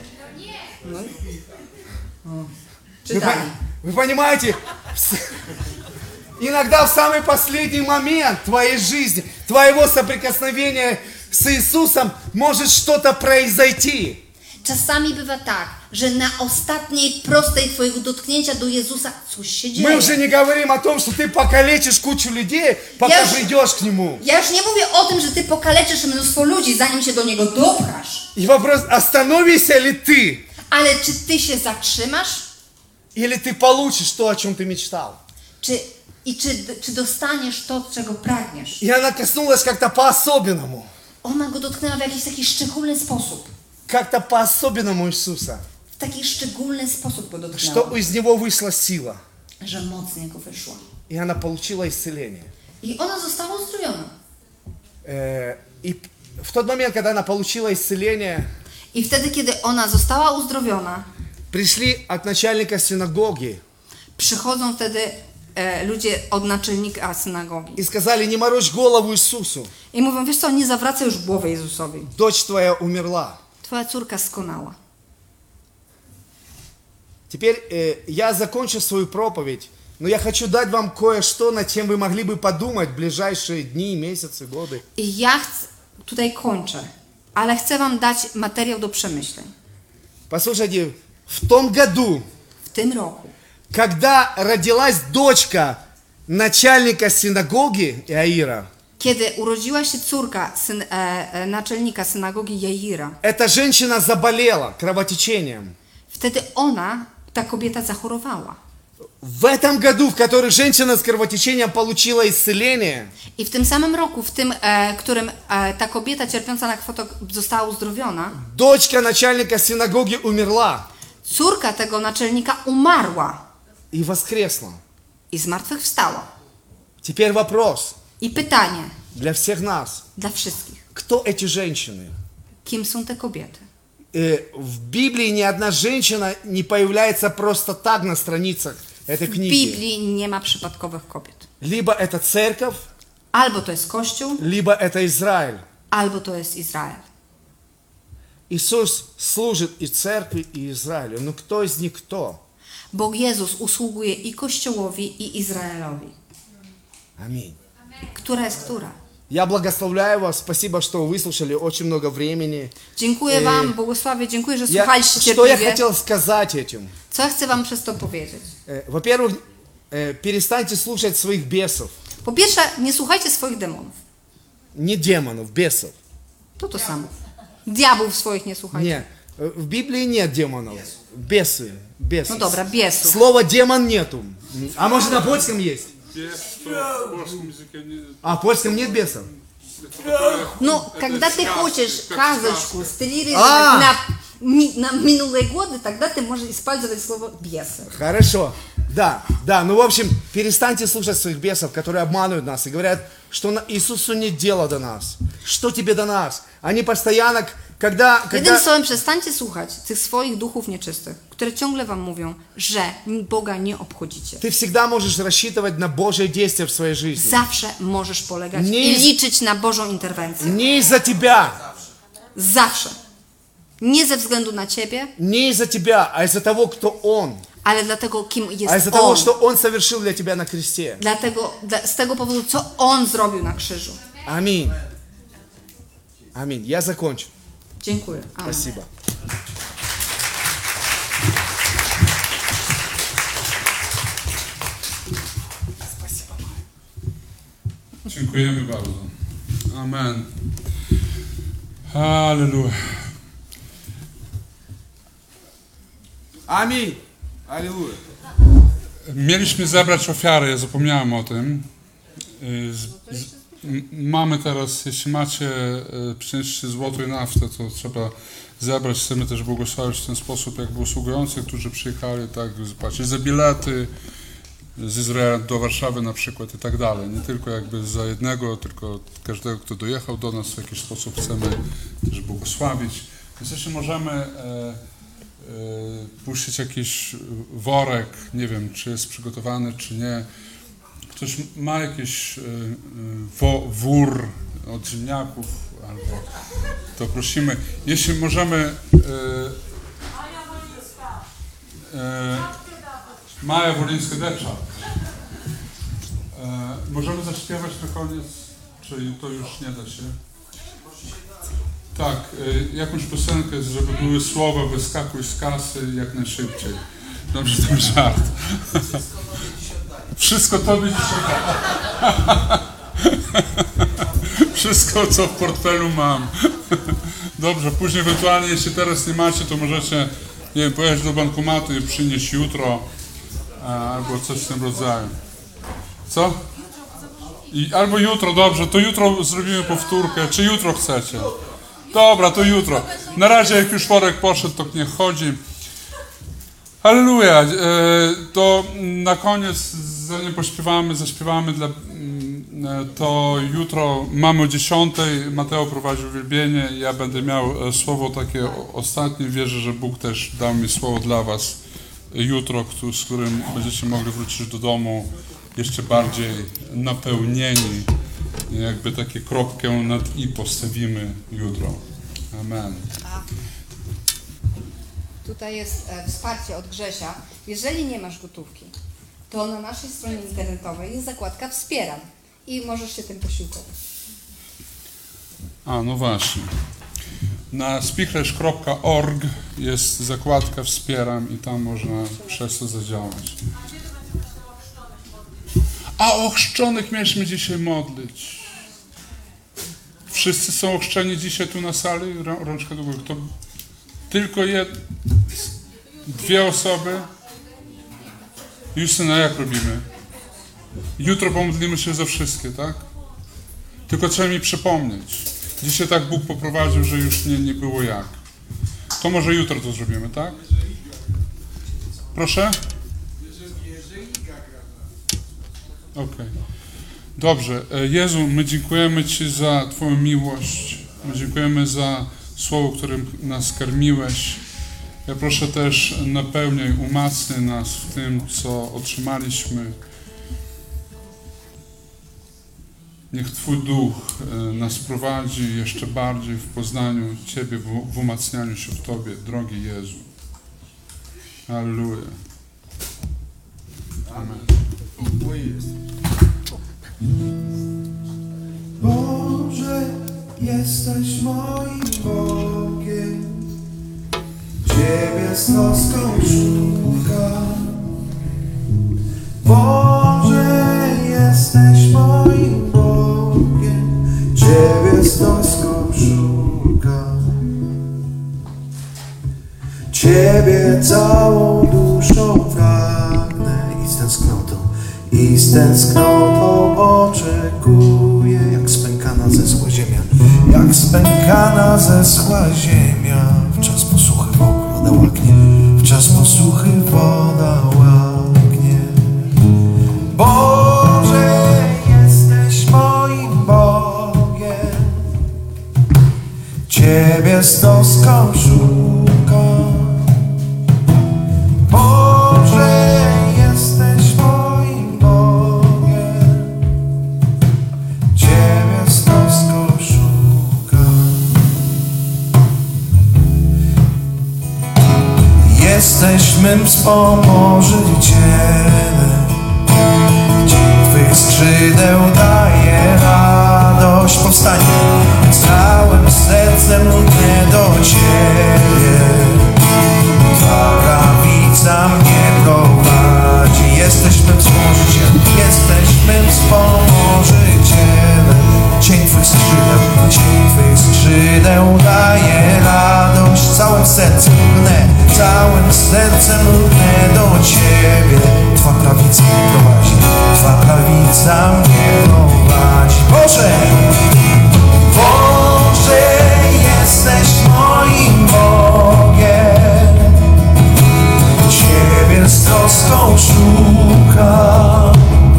Вы, Czytali. вы понимаете, иногда в самый последний момент твоей жизни, твоего соприкосновения с Иисусом может что-то произойти. Czasami bywa tak, że na ostatniej prostej twojego dotknięcia do Jezusa coś się Мы dzieje. уже не говорим о том, что ты покалечишь кучу людей, пока Я ж- придешь к Нему. Ja już nie mówię o tym, że ty pokaleczysz mnóstwo ludzi, zanim się do Niego dopchasz. И вопрос, остановишься ли ты, Ale czy ty się zatrzymasz? или ты получишь то, о чем ты мечтал. Czy dostaniesz to, czego pragniesz? И она коснулась как-то по-особенному. Ona go dotknęła w jakiś taki szczególny sposób. Как-то по-особенному Иисуса. W taki szczególny sposób go Что dotknęła. из Него wышла сила. Że moc z Niego wyszła. И она получила исцеление. I ona została uzdrowiona. И в тот момент, когда она получила исцеление, I wtedy, kiedy ona została uzdrowiona, пришли от начальника синагоги przychodzą wtedy ludzie od naczelnika synagogi. и сказали, не морочь голову Иисусу, I mówią, wiesz co, nie zawracaj już głowy Jezusowi. дочь твоя умерла. Twoja córka skonała. Теперь я закончу свою проповедь, но я хочу дать вам кое-что, над чем вы могли бы подумать в ближайшие дни, месяцы, годы. I ja tutaj kończę, ale chcę wam dać materiał do przemyśleń. Послушайте, в том году, W tym roku, когда родилась дочка начальника синагоги Иаира, kiedy urodziła się córka naczelnika synagogi Jaira, эта женщина заболела кровотечением. wtedy ona, ta kobieta zachorowała. В этом году, в который женщина с кровотечением получила исцеление, I w tym samym roku, w tym, którym ta kobieta cierpiąca na kwatok została uzdrowiona, дочка начальника синагоги умерла córka tego naczelnika umarła и воскресла. i zmartwychwstała. Теперь вопрос I pytanie для всех нас. dla wszystkich. Кто эти женщины? Kim są te kobiety? В Библии ни одна женщина не появляется просто так на страницах этой W книги. Biblii nie ma przypadkowych kobiet. Либо это церковь, Albo to jest Kościół, либо это Израиль. albo to jest Izrael. Иисус служит и церкви, и Израилю. Но кто из них кто? Bo Jezus usługuje i Kościołowi, i Izraelowi. Аминь. Która jest która? Я благословляю вас. Спасибо, что выслушали очень много времени. Dziękuję wam, błogosławię, dziękuję, że Я, słuchaliście что я cierpliwie. хотел сказать этим? Co ja chcę wam przez to powiedzieć? Во-первых, перестаньте слушать своих бесов. Po pierwsze, nie słuchajcie swoich demonów. Не демонов, бесов. To samo. Diabłów swoich nie słuchajcie. Не, в Библии нет демонов. Бесы. Бесы. No dobra, biesów. Слова демон нету. А может на польском есть? А в польском нет бесов? Ну, когда ты хочешь казочку стилизировать на минулые годы, тогда ты можешь использовать слово бесы. Хорошо. Да, да. Ну, в общем, перестаньте слушать своих бесов, которые обманывают нас и говорят, что Иисусу нет дела до нас. Что тебе до нас? Они постоянно, когда... Jednym słowem, przestańcie słuchać tych swoich duchów nieczystych, które ciągle wam mówią, że Boga nie obchodzicie. Ты всегда можешь рассчитывать на Божье действие в своей жизни. Zawsze możesz polegać Nie i jest- liczyć na Bożą interwencję. Не из-за тебя. Zawsze. Nie ze względu na ciebie, Не из-за тебя, а из-за того, кто Он. ale dlatego, kim А jest из-за того, On. что Он совершил для тебя на кресте. Z tego powodu, co On zrobił na krzyżu. Аминь. Аминь. Я закончу. Dziękuję. Amen. Спасибо. Спасибо. Dziękujemy bardzo. Amen. Halleluja. Аминь. Аллилуйя. Mieliśmy zebrać ofiary, ja zapomniałem o tym. Mamy teraz, jeśli macie, przynieście złoto i naftę, to trzeba zebrać. Chcemy też błogosławić w ten sposób jakby usługujących, którzy przyjechali, tak, zapłacić za bilety z Izraela do Warszawy na przykład i tak dalej. Nie tylko jakby za jednego, tylko każdego, kto dojechał do nas w jakiś sposób chcemy też błogosławić. Więc jeśli możemy puścić jakiś worek, nie wiem, czy jest przygotowany, czy nie. Ktoś ma jakiś wór od ziemniaków, albo to prosimy. Jeśli możemy... Maja Wolińska-Decza. Możemy zaśpiewać na koniec, czy to już nie da się? Tak, jakąś piosenkę, żeby były słowa wyskakuj z kasy jak najszybciej. Dobrze, to żart. Wszystko tobie dzisiaj. Wszystko, co w portfelu mam. Dobrze, później ewentualnie, jeśli teraz nie macie, to możecie, nie wiem, pojechać do bankomatu i przynieść jutro, albo coś w tym rodzaju. Co? Albo jutro, dobrze, to jutro zrobimy powtórkę, czy jutro chcecie? Dobra, to jutro. Na razie, jak już worek poszedł, to niech chodzi. Halleluja. To na koniec, zanim zaśpiewamy to jutro mamy o 10:00. Mateo prowadzi uwielbienie. Ja będę miał słowo takie ostatnie. Wierzę, że Bóg też dał mi słowo dla was jutro, z którym będziecie mogli wrócić do domu jeszcze bardziej napełnieni. Jakby takie kropkę nad i postawimy jutro. Amen. Tutaj jest wsparcie od Grzesia. Jeżeli nie masz gotówki, to na naszej stronie internetowej jest zakładka Wspieram i możesz się tym posiłkować. No właśnie. Na spichlerz.org jest zakładka Wspieram i tam można przez to zadziałać. A o chrzczonych mieliśmy dzisiaj modlić. Wszyscy są ochrzczeni dzisiaj tu na sali? Rączka do góry. To tylko dwie osoby? Justyna, jak robimy? Jutro pomodlimy się za wszystkie, tak? Tylko trzeba mi przypomnieć. Dzisiaj tak Bóg poprowadził, że już nie było jak. To może jutro to zrobimy, tak? Proszę? Okej. Dobrze. Jezu, my dziękujemy Ci za Twoją miłość. My dziękujemy za słowo, którym nas karmiłeś. Ja proszę też, napełniaj, umacniaj nas w tym, co otrzymaliśmy. Niech Twój Duch nas prowadzi jeszcze bardziej w poznaniu Ciebie, w umacnianiu się w Tobie, drogi Jezu. Halleluja. Amen. Boże, jesteś moim Bogiem, Ciebie z troską szukam. Boże, jesteś moim Bogiem, Ciebie z troską szukam. Ciebie całą duszą pragnę i z tęsknotą oczekuję, jak spękana zesła ziemia, jak spękana zesła ziemia. W czas posuchy woda łaknie, w czas posuchy woda łaknie. Boże, jesteś moim Bogiem, Ciebie z troską szukam. Boże, jesteś moim Bogiem, Ciebie z troską szukam. Jesteś mym wspomożycielem, dzień Twych skrzydeł daje radość. Powstanie z całym sercem lgnie do Ciebie, Twa prawica mnie prowadzi. Jesteś mym wspomożycielem, jesteś mym wspomożycielem. sercem lgnę do Ciebie. Twa prawica mnie prowadzi, Twa prawica mnie prowadzi. Boże, Boże, jesteś moim Bogiem. Ciebie z troską szukam.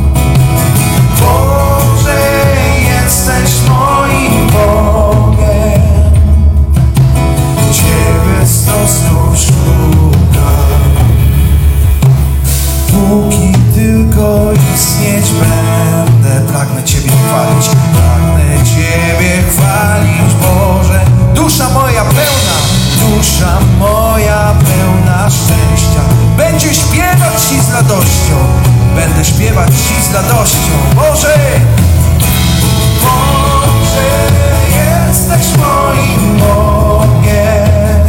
Boże, jesteś moim Bogiem. Ciebie z troską szukam. Póki tylko istnieć będę, pragnę Ciebie chwalić, pragnę Ciebie chwalić, Boże. Dusza moja pełna szczęścia, będzie śpiewać Ci z radością, będę śpiewać Ci z radością, Boże. Boże, jesteś moim Bogiem.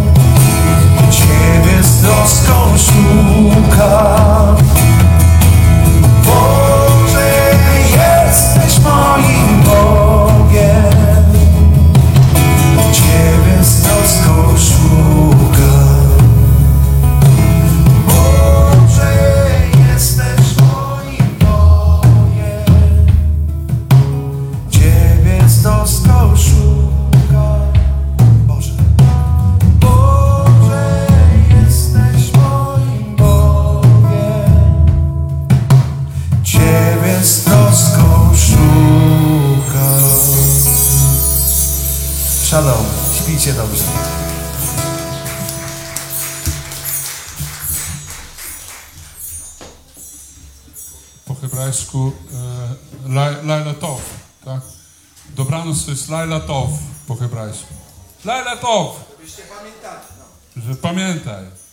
Ciebie z troską szukam. Boże, jesteś moim Bogiem. Ciebie z troską szukam. Boże, jesteś moim Bogiem. Ciebie z troską szukam. Boże, Boże, jesteś moim Bogiem. Ciebie z troską szukam. Shalom, śpijcie dobrze. Po hebrajsku Laila Tov, tak? Dobranoc to jest Laila Tov po hebrajsku. Laila Tov! Żebyście pamiętali. Że pamiętaj.